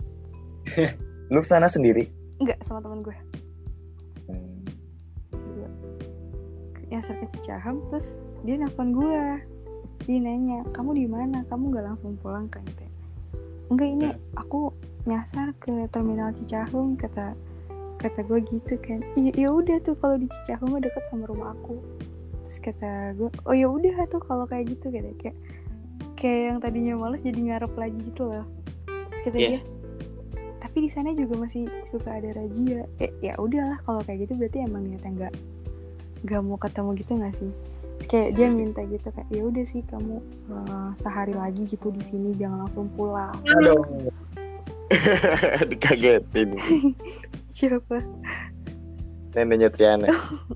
Lu kesana sendiri? Enggak, sama teman gue. Hmm. Gue nyasar ke Cicahem. Terus dia nelfon gue, dia nanya kamu di mana, kamu nggak langsung pulang kan? Gitu. Enggak, ini aku nyasar ke terminal Cicahem kata kata gue gitu kan, iya ya udah tuh kalau di Cicahem mah deket sama rumah aku. Terus kata gue, oh ya udah tuh kalau kayak gitu kayak kayak kayak yang tadinya malas jadi ngarep lagi gitu loh. Terus kata Iya. dia, tapi di sana juga masih suka ada razia. Eh, ya udahlah kalau kayak gitu berarti emang niatnya nggak nggak mau ketemu gitu nggak sih? Terus kayak dia Iya sih. minta gitu kayak ya udah sih kamu uh, sehari lagi gitu di sini jangan langsung pulang. Aduh. Dikagetin. Siapa? Neneknya Triana.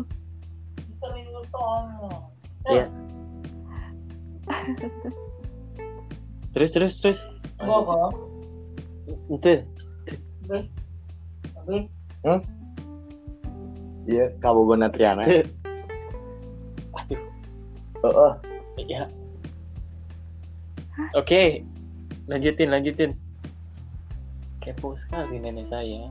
Iya. Terus terus terus. Itu. Iya, Kabogona Triana. Aduh. Oh, oh. Ya. Oke. Lanjutin lanjutin. Kepo sekali nenek saya.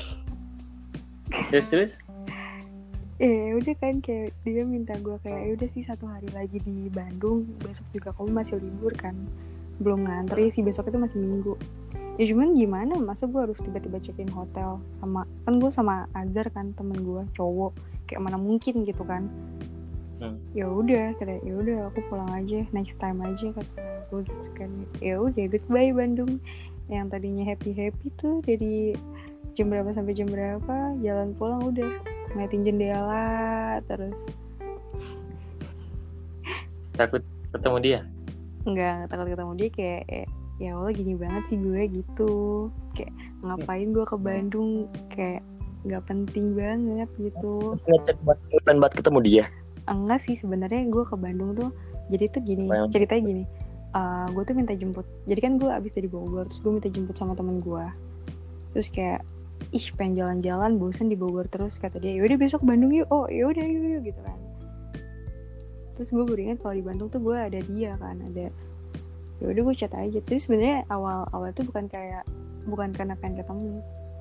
Terus terus. Eh udah kan kayak dia minta gue kayak ya udah sih satu hari lagi di Bandung, besok juga kamu masih libur kan, belum ngantri sih, besok itu masih Minggu. Ya cuman gimana, masa gue harus tiba-tiba check-in hotel sama, kan gue sama Azhar kan temen gue cowok, kayak mana mungkin gitu kan. Hmm. Ya udah kayak ya udah aku pulang aja, next time aja kata gue gitu kan. Ya udah goodbye Bandung, yang tadinya happy happy tuh dari jam berapa sampai jam berapa, jalan pulang udah ngeliatin jendela terus. Takut ketemu dia? Enggak, takut ketemu dia kayak eh, ya Allah gini banget sih gue gitu. Kayak ngapain gue ke Bandung, kayak nggak penting banget gitu. Ngecek buat bukan buat ketemu dia. Enggak sih sebenarnya gue ke Bandung tuh jadi tuh gini, Apa yang- ceritanya gini. Uh, gue tuh minta jemput. Jadi kan gue abis dari Bogor, terus gue minta jemput sama temen gue. Terus kayak ih pengen jalan-jalan, bosan di Bogor terus, kata dia yaudah besok Bandung yuk. Oh yaudah yuk, yuk gitu kan. Terus gue baru ingat kalau di Bandung tuh gue ada dia kan, ada ya udah gue chat aja. Terus sebenarnya awal-awal tuh bukan kayak bukan karena pengen ketemu.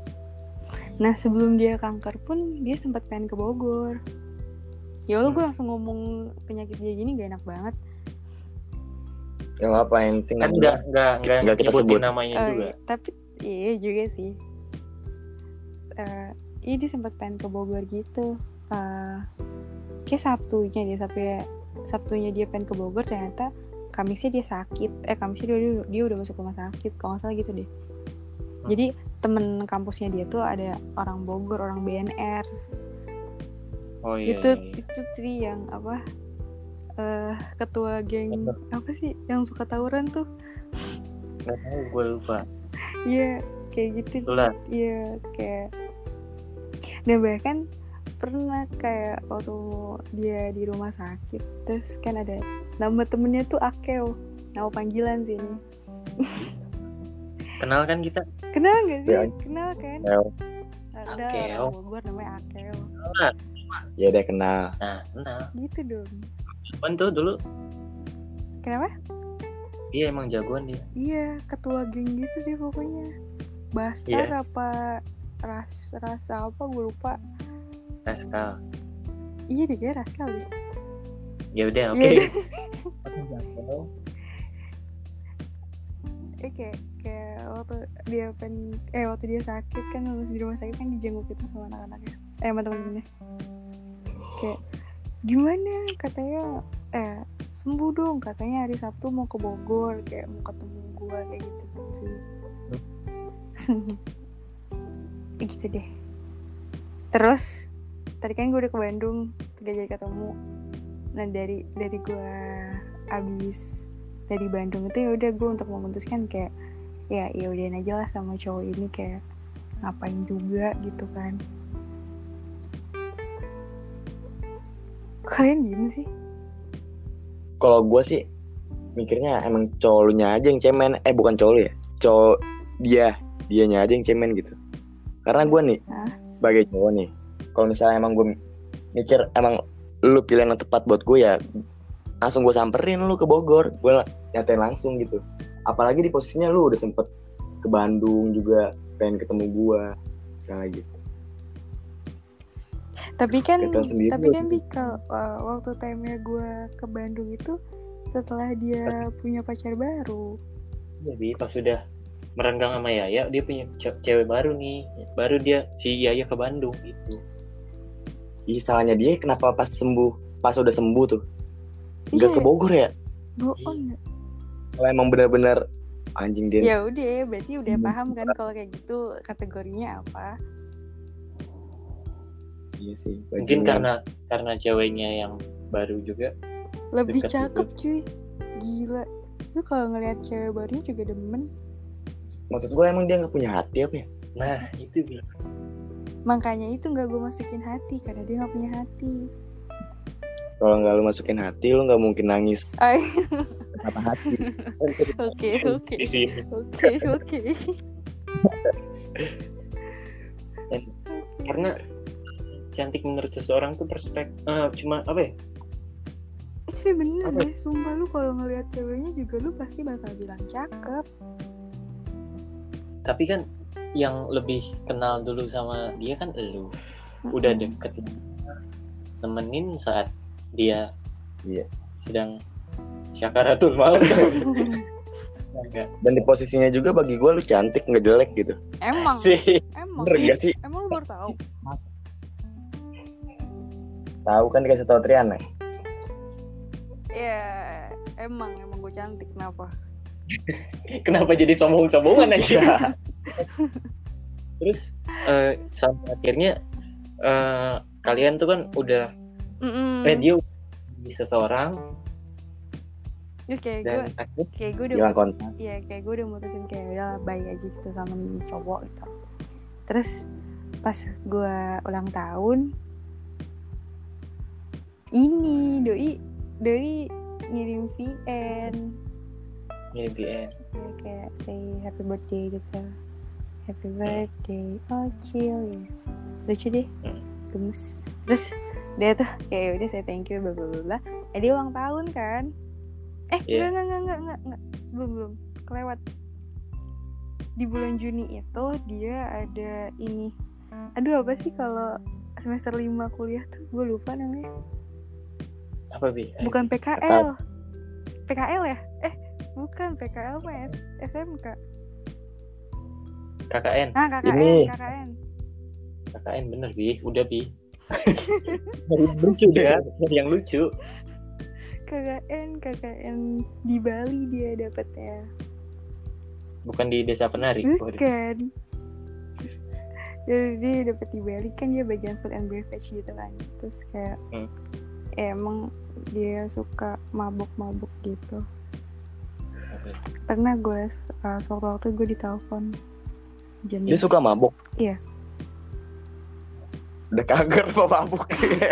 Nah sebelum dia kanker pun dia sempat pengen ke Bogor. Ya Allah, gue langsung ngomong penyakit dia gini gak enak banget. Ya nggak apa yang penting Kan namanya. nggak nggak nggak Nggak kita nyebutin sebut. namanya Oh, juga. iya. Tapi iya juga sih. Uh, iya dia sempat pengen ke Bogor gitu. Uh, kayak Sabtunya dia sampai Sabtunya dia pengen ke Bogor, ternyata Kamisnya dia sakit. Eh Kamisnya dia, dia udah masuk rumah sakit, kalau nggak salah gitu deh. Jadi temen kampusnya dia tuh ada orang Bogor, orang B N R. Oh iya. itu iya, iya. itu Tri yang apa? Uh, ketua geng apa sih yang suka tawuran tuh? Nggak tahu, gue lupa. Iya kayak gitu. Itulah. Iya kayak. Dan bahkan pernah kayak waktu dia di rumah sakit, terus kan ada nama temennya tuh Akeo, nama panggilan sih ini. Kenal kan kita? Kenal nggak sih? Ya. Kenal kan? Akeo. Ada Akeo. orang Bogor namanya Akeo. Ya udah kenal. Nah, kenal. Gitu dong. Kan tuh dulu. Kenapa? Iya emang jagoan dia. Iya ketua geng gitu dia pokoknya. Bastar Yes. apa ras rasa apa gue lupa. Raskal. Iya deh kayak Raskal deh. Ya udah, oke. Iya Okay. Eh kayak kayak waktu dia pen eh waktu dia sakit kan, masih di rumah sakit kan, dijenguk itu sama anak-anaknya, eh sama teman-temannya. Kayak gimana katanya, eh sembuh dong katanya, hari Sabtu mau ke Bogor, kayak mau ketemu gue kayak gitu gitu. Gitu deh. Terus tadi kan gue udah ke Bandung, gak jadi ketemu. Nah dari dari gue abis dari Bandung itu ya udah gue untuk memutuskan kayak ya ya udahin aja lah sama cowok ini, kayak ngapain juga gitu kan. Kalian diem sih? Kalau gue sih mikirnya emang cowok lu nya aja yang cemen. Eh bukan cowok lu ya, cowok dia dianya aja yang cemen gitu. Karena gue nih Hah? sebagai cowok nih, kalau misalnya emang gue mikir emang lu pilihan yang tepat buat gue, ya langsung gue samperin lu ke Bogor, gue nyatain langsung gitu. Apalagi di posisinya lu udah sempet ke Bandung juga, pengen ketemu gue misalnya gitu. Tapi kan Kelihatan sendiri tapi lu. kan Bikal, uh, waktu time-nya gue ke Bandung itu setelah dia punya pacar baru. Jadi pas sudah merenggang sama Yaya, dia punya ce- cewek baru nih, baru dia si Yaya ke Bandung gitu. Ih, salahnya dia kenapa pas sembuh, pas udah sembuh tuh Iya, nggak ke Bogor ya? bohong. Kalau emang benar-benar anjing dia. Ya udah, berarti udah Hmm. paham kan kalau kayak gitu kategorinya apa? Iya sih. Mungkin bajingan. karena karena ceweknya yang baru juga. Lebih Dekat cakep cuy. Gila. Lu kalau ngelihat cewek barunya juga demen. Maksud gue emang dia nggak punya hati apa ya? Nah itu Bi. Makanya itu gak gue masukin hati, karena dia gak punya hati. Kalau nggak lu masukin hati, lu nggak mungkin nangis Ay, kata hati. Oke oke Di sini. Oke oke Karena cantik menurut seseorang tuh perspektif eh, cuma apa ya? Itu bener Apa? deh, sumpah lu kalau ngelihat ceweknya juga lu pasti bakal bilang cakep. Tapi kan yang lebih kenal dulu sama dia kan elu. Udah Mm-mm. deket, nemenin saat dia Iya. sedang syakaratul maut. Enggak. Dan di posisinya juga bagi gue lu cantik nggak jelek gitu. Emang Sih. Emang Bener gak sih? Emang lu baru tahu? Tahu kan dikasih tau Triana. Ya emang Emang gue cantik, kenapa? Kenapa jadi sombong-sombongan aja? Terus eh, sampai akhirnya eh, kalian tuh kan udah Mm-mm. eh, dia udah di seseorang Terus kayak gue dan akhirnya Kayak gue udah Hilang kontak. Iya kayak gue udah mutusin kayak udah baik aja gitu sama nih cowok gitu. Terus pas gue ulang tahun, ini doi doi ngirim V N ngirim V N. ya, kayak say happy birthday gitu, happy birthday oh chill ya, lucu deh, Hmm. gemes. Terus dia tuh kayak udah saya thank you bla bla bla bla. Eh dia ulang tahun kan? Eh Iya. enggak enggak enggak enggak enggak sebelum belum kelewat. Di bulan Juni itu dia ada ini. Aduh apa sih kalau semester lima kuliah tuh gue lupa namanya. Apa Bi? Eh, Bukan P K L. P K L ya? Eh, bukan P K L mah S- SMK. K K N. Nah, K K N, Ini. K K N. K K N bener Bi, udah Bi. Lucu ya, yang lucu. K K N, K K N di Bali dia dapetnya. Bukan di Desa Penari. Bukan. Jadi dia dapet di Bali kan dia bagian food and beverage gitu kan. Terus kayak Hmm. emang dia suka mabuk-mabuk gitu. Pernah gue uh, sewaktu-waktu gue ditelepon jam Dia suka mabuk. Iya. Udah kager apa mabuk.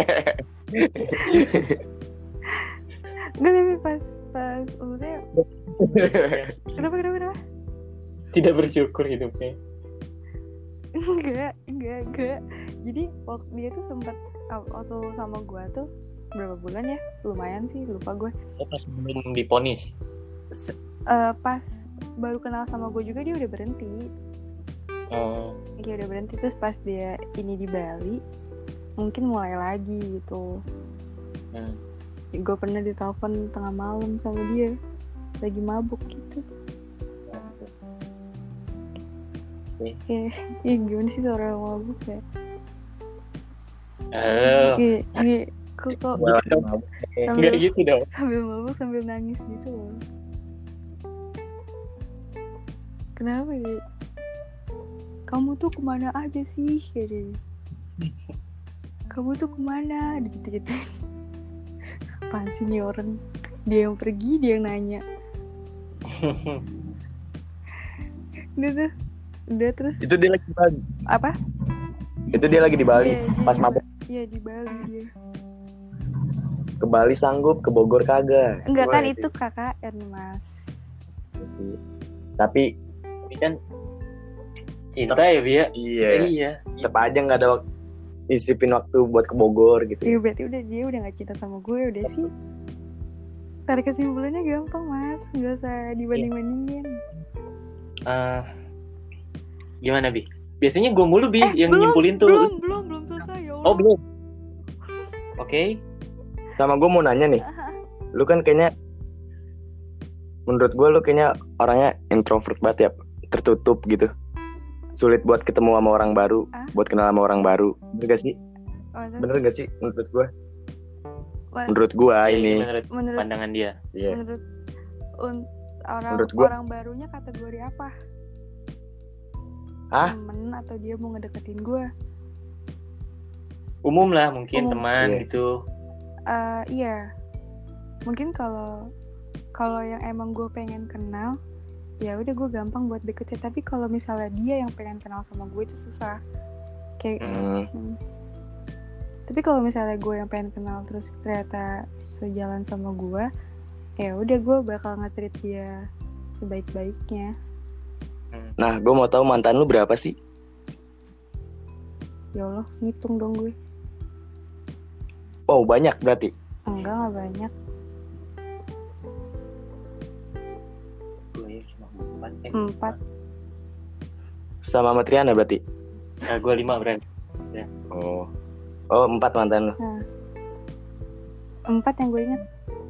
Enggak, tapi pas pas maksudnya kenapa kenapa kenapa? Tidak bersyukur hidupnya. Enggak, enggak, enggak. Jadi waktu dia tuh sempat waktu sama gue tuh berapa bulan ya? Lumayan sih, lupa gue. Oh, pas belum diponis. Se- uh, pas baru kenal sama gue juga dia udah berhenti. Oh, Dia udah berhenti terus pas dia ini di Bali mungkin mulai lagi gitu. hmm. Gue pernah ditelepon tengah malam sama dia lagi mabuk gitu. Ya, ya gimana sih seorang mabuk ya? Oh, Iya, iya. Kok kok Gua lagi mabuk. enggak sambil gitu dong. sambil mabuk sambil nangis gitu loh. Kenapa ya? Kamu tuh kemana aja sih? Kayak dia. Kamu tuh kemana? Gitu-gitu. Apaan sih nih orang? Dia yang pergi, dia yang nanya. Udah tuh. Udah terus Itu dia lagi di Bali. apa? Itu dia lagi di Bali. Iya, dia- Pas mabuk Iya di Bali dia. ke Bali sanggup, ke Bogor kagak. Enggak kan Gimana itu K K N Mas. sih? Tapi Tapi kan cinta ya Bi ya. iya, Iya. tetap aja nggak ada waktu, isipin waktu buat ke Bogor gitu. Iya berarti udah dia udah gak cinta sama gue udah sih. Tarik kesimpulannya gampang Mas, nggak usah dibanding-bandingin. Eh, gimana Bi? Biasanya gue mulu Bi Eh, yang belum, nyimpulin tuh. Belum, belum, belum selesai ya Allah. Oh belum. Oke. Sama gue mau nanya nih, lu kan kayaknya, menurut gue lu kayaknya orangnya introvert banget ya. tertutup gitu. Sulit buat ketemu sama orang baru, Ah? buat kenal sama orang baru. Bener gak sih? Oh, terus Bener gak sih menurut gua? Wah, Menurut gua Ya, ini. menurut, menurut pandangan dia. Iya. menurut un- orang Menurut gua- orang barunya kategori apa? Hah? Temen atau dia mau ngedeketin gue? Umum lah mungkin Umum. teman Iya. gitu. Eh, iya, mungkin kalau kalau yang emang gue pengen kenal, ya udah gue gampang buat deketin. Tapi kalau misalnya dia yang pengen kenal sama gue itu susah. Kayak Hmm. hmm. Tapi kalau misalnya gue yang pengen kenal terus ternyata sejalan sama gue, ya udah gue bakal nge-treat dia sebaik-baiknya. Nah, gue mau tahu mantan lu berapa sih? Ya Allah, ngitung dong gue. Wow, banyak berarti. Enggak, nggak banyak. Gue ya cuma empat. Eh, Empat. Sama sama Triana berarti. Nah, gue lima berarti. Oh. Oh, empat mantan lu. Empat yang gue ingat.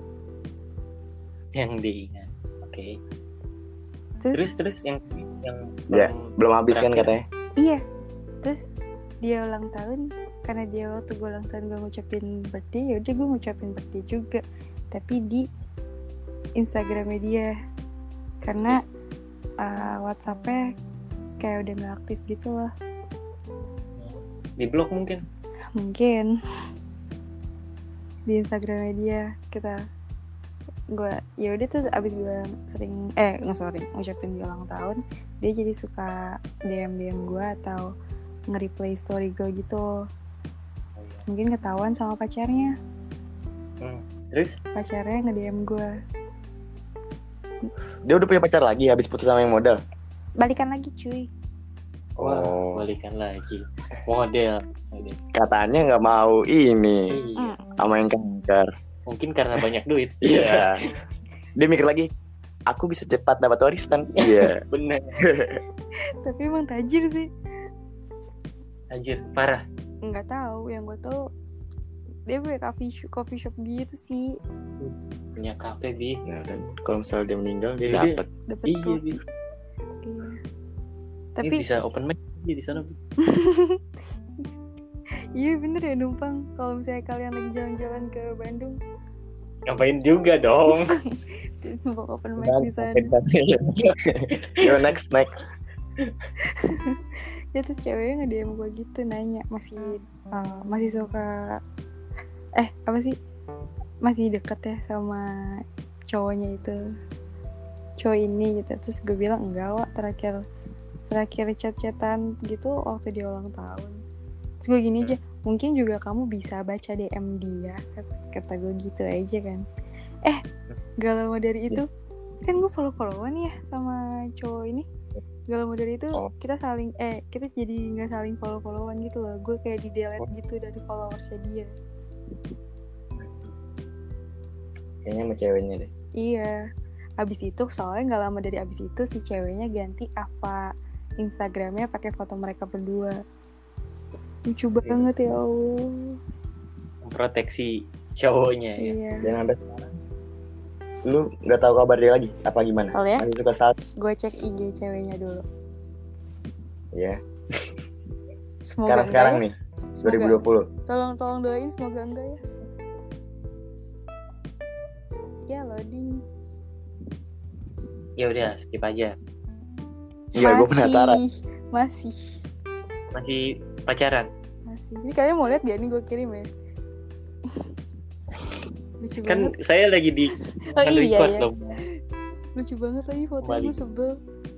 Yang diingat. Oke. Terus, Terus terus yang yang Ya, belum habis kan berakhir. katanya. iya. Terus dia ulang tahun, karena dia waktu gue ulang tahun gue ngucapin birthday, ya udah gue ngucapin birthday juga. Tapi di Instagramnya dia, karena uh, WhatsAppnya kayak udah nggak aktif gitu loh. Di blok mungkin. Mungkin di Instagramnya dia kita gue ya udah tuh abis gue sering eh nggak sorry ngucapin dia ulang tahun, dia jadi suka D M D M gue atau nge-replay story gue gitu. Mungkin ketahuan sama pacarnya, Hmm. Terus pacarnya nge-D M gue, Dia udah punya pacar lagi habis putus sama yang modal. balikan lagi cuy. wah, Oh. balikan lagi. Model. Model. Katanya nggak mau ini Iya. sama yang kanker. Mungkin karena banyak duit. Iya. Dia mikir lagi, aku bisa cepat dapat warisan. Iya. Bener. Tapi emang tajir sih. Anjir, parah. Nggak tahu, yang gue tahu dia punya coffee shop, coffee shop gitu sih. Punya kafe, Bi. Nah, kan kalau misalnya dia meninggal dia Iya, dia- dapat. Dapet Iya, tuh. Bi. Iya. Ini Tapi bisa open mic di sana, Bi. iya bener ya numpang. Kalau misalnya kalian lagi jalan-jalan ke Bandung, Ngapain juga dong. numpang open mic di sana. Yo, next next. Ya terus ceweknya nge-D M gue gitu, nanya masih uh, masih suka eh apa sih masih deket ya sama cowoknya itu, cowok ini gitu. Terus gue bilang enggak, Wak, terakhir terakhir chat-chatan gitu waktu dia ulang tahun. Terus gue gini aja, mungkin juga kamu bisa baca D M dia, kata gue gitu aja kan. Eh gak lama dari itu kan gue follow-followan ya sama cowok ini. Gak lama dari itu Oh. kita saling eh kita jadi nggak saling follow-followan gitu loh. Gue kayak di delete gitu dari followersnya dia. Kayaknya sama ceweknya deh. Iya. Abis itu soalnya nggak lama dari abis itu si ceweknya ganti apa Instagramnya pakai foto mereka berdua. Lucu banget ya Allah. Memproteksi cowoknya ya. Iya. Dan sampai sekarang lu nggak tahu kabar dia lagi apa gimana? Kalau ya, Masih suka saat gue cek I G ceweknya dulu. ya. Semoga Sekarang sekarang enggak nih dua ribu dua puluh. ya. Tolong tolong doain semoga enggak ya. Ya loading. Ya udah, skip aja. Iya, gue penasaran. Masih. Masih pacaran. Masih. Jadi kalian mau lihat gak nih gue kirim ya? Lucu Kan banget. saya lagi di Oh kan iya record ya. loh. Lucu banget lagi fotonya, Kembali. gue sebel.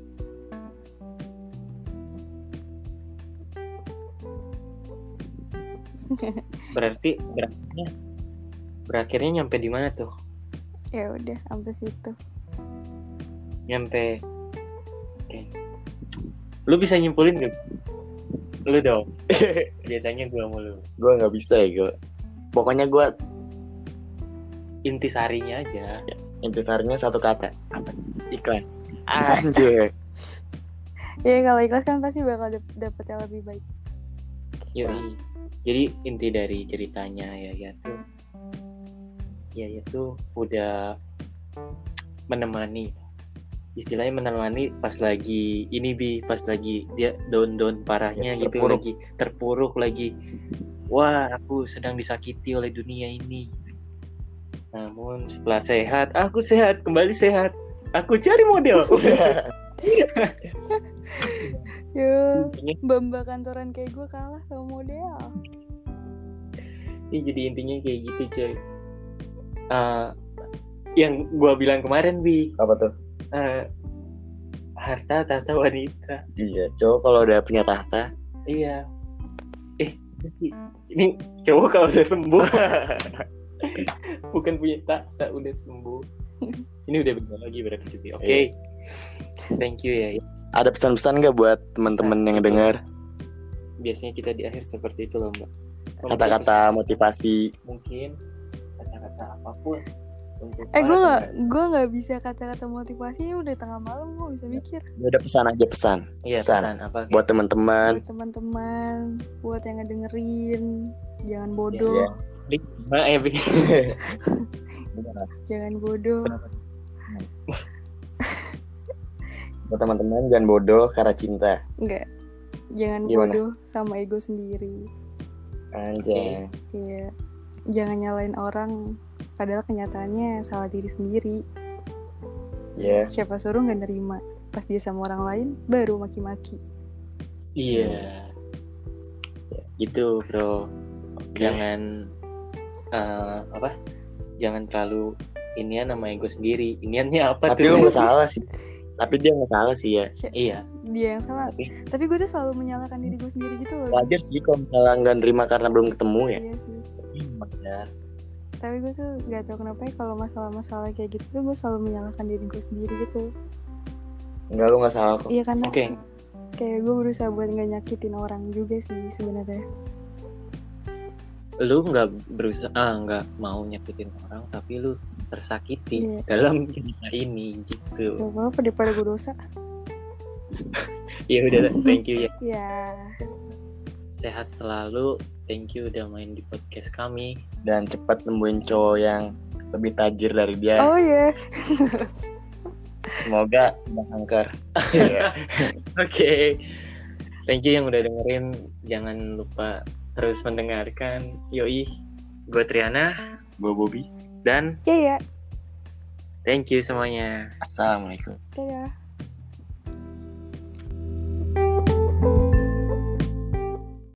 Berarti berakhirnya berakhirnya nyampe di mana tuh? Ya udah sampai situ. Nyampe. Oke. Lu bisa nyimpulin gak? Lu dong. Biasanya gua mulu. Gue nggak bisa ya gue. Pokoknya gue Intisarinya aja. intisarinya satu kata. Apa? Ikhlas. Anjir. Ya kalau ikhlas kan pasti bakal dap- dapet yang lebih baik. Yoi. Jadi inti dari ceritanya ya ya tuh ya ya tuh udah menemani istilahnya menemani pas lagi ini Bi, pas lagi dia down-down parahnya Ya, gitu, terpuruk. lagi terpuruk lagi. Wah, aku sedang disakiti oleh dunia ini. Namun setelah sehat, aku sehat, kembali sehat. Aku cari model. Yo, mbak-mbak kantoran kayak gue kalah sama model. Iya, jadi intinya kayak gitu coy. Uh, yang gua bilang kemarin Bi, Apa tuh? uh, harta tahta wanita. Iya, cowok kalau udah punya tahta. Iya. Eh, ini cowok kalau saya sembuh bukan punya tahta, udah sembuh. Ini udah benar lagi berarti gitu. Oke. Okay. Thank you ya. Ada pesan-pesan nggak buat teman-teman Nah, yang itu. dengar? Biasanya kita di akhir seperti itu loh, Mbak. Kata-kata motivasi. Mungkin kata-kata apapun untuk Eh gue para nggak pendengar. gue nggak bisa kata-kata motivasi, udah tengah malam gue bisa mikir. Ya udah pesan aja pesan. Iya, pesan. pesan apa? Buat teman-teman. Buat teman-teman, buat yang ngedengerin, jangan bodoh, Iya. Bik, Mbak, eh, Bik. jangan bodoh. Buat teman-teman jangan bodoh karena cinta. Enggak, jangan Gimana? bodoh sama ego sendiri. Anjay. Iya, jangan nyalain orang, padahal kenyataannya salah diri sendiri. Ya. Siapa suruh nggak nerima, pas dia sama orang lain baru maki-maki. Iya. Gitu, Bro. Oke. Jangan eh, apa? Jangan terlalu inian sama ego sendiri. Iniannya apa Tapi tuh? lu nggak salah sih. Tapi dia nggak salah sih ya. Iya. Dia yang salah. Tapi Tapi gue tuh selalu menyalahkan diri gue sendiri gitu loh. Wajar sih kalau misalnya nggak nerima karena belum ketemu ya. Iya sih. benar. Tapi gue tuh gak tau kenapa ya kalau masalah-masalah kayak gitu tuh gue selalu menyalahkan diri gue sendiri gitu. Enggak, lu nggak salah kok. Iya karena Oke. kayak gue berusaha buat gak nyakitin orang juga sih sebenarnya. Lu nggak berusaha, ah nggak mau nyakitin orang, tapi lu tersakiti Iya. dalam cerita ini gitu. Gak apa-apa daripada gue dosa. Ya udah, thank you ya. Ya. Sehat selalu. Thank you udah main di podcast kami. Dan cepat nemuin cowok yang lebih tajir dari dia. Oh iya. Semoga nggak kanker. Oke. Thank you yang udah dengerin. Jangan lupa terus mendengarkan. Yoi. Gue Triana Gue Bobby. dan Iya ya. thank you semuanya. Assalamualaikum. Dadah.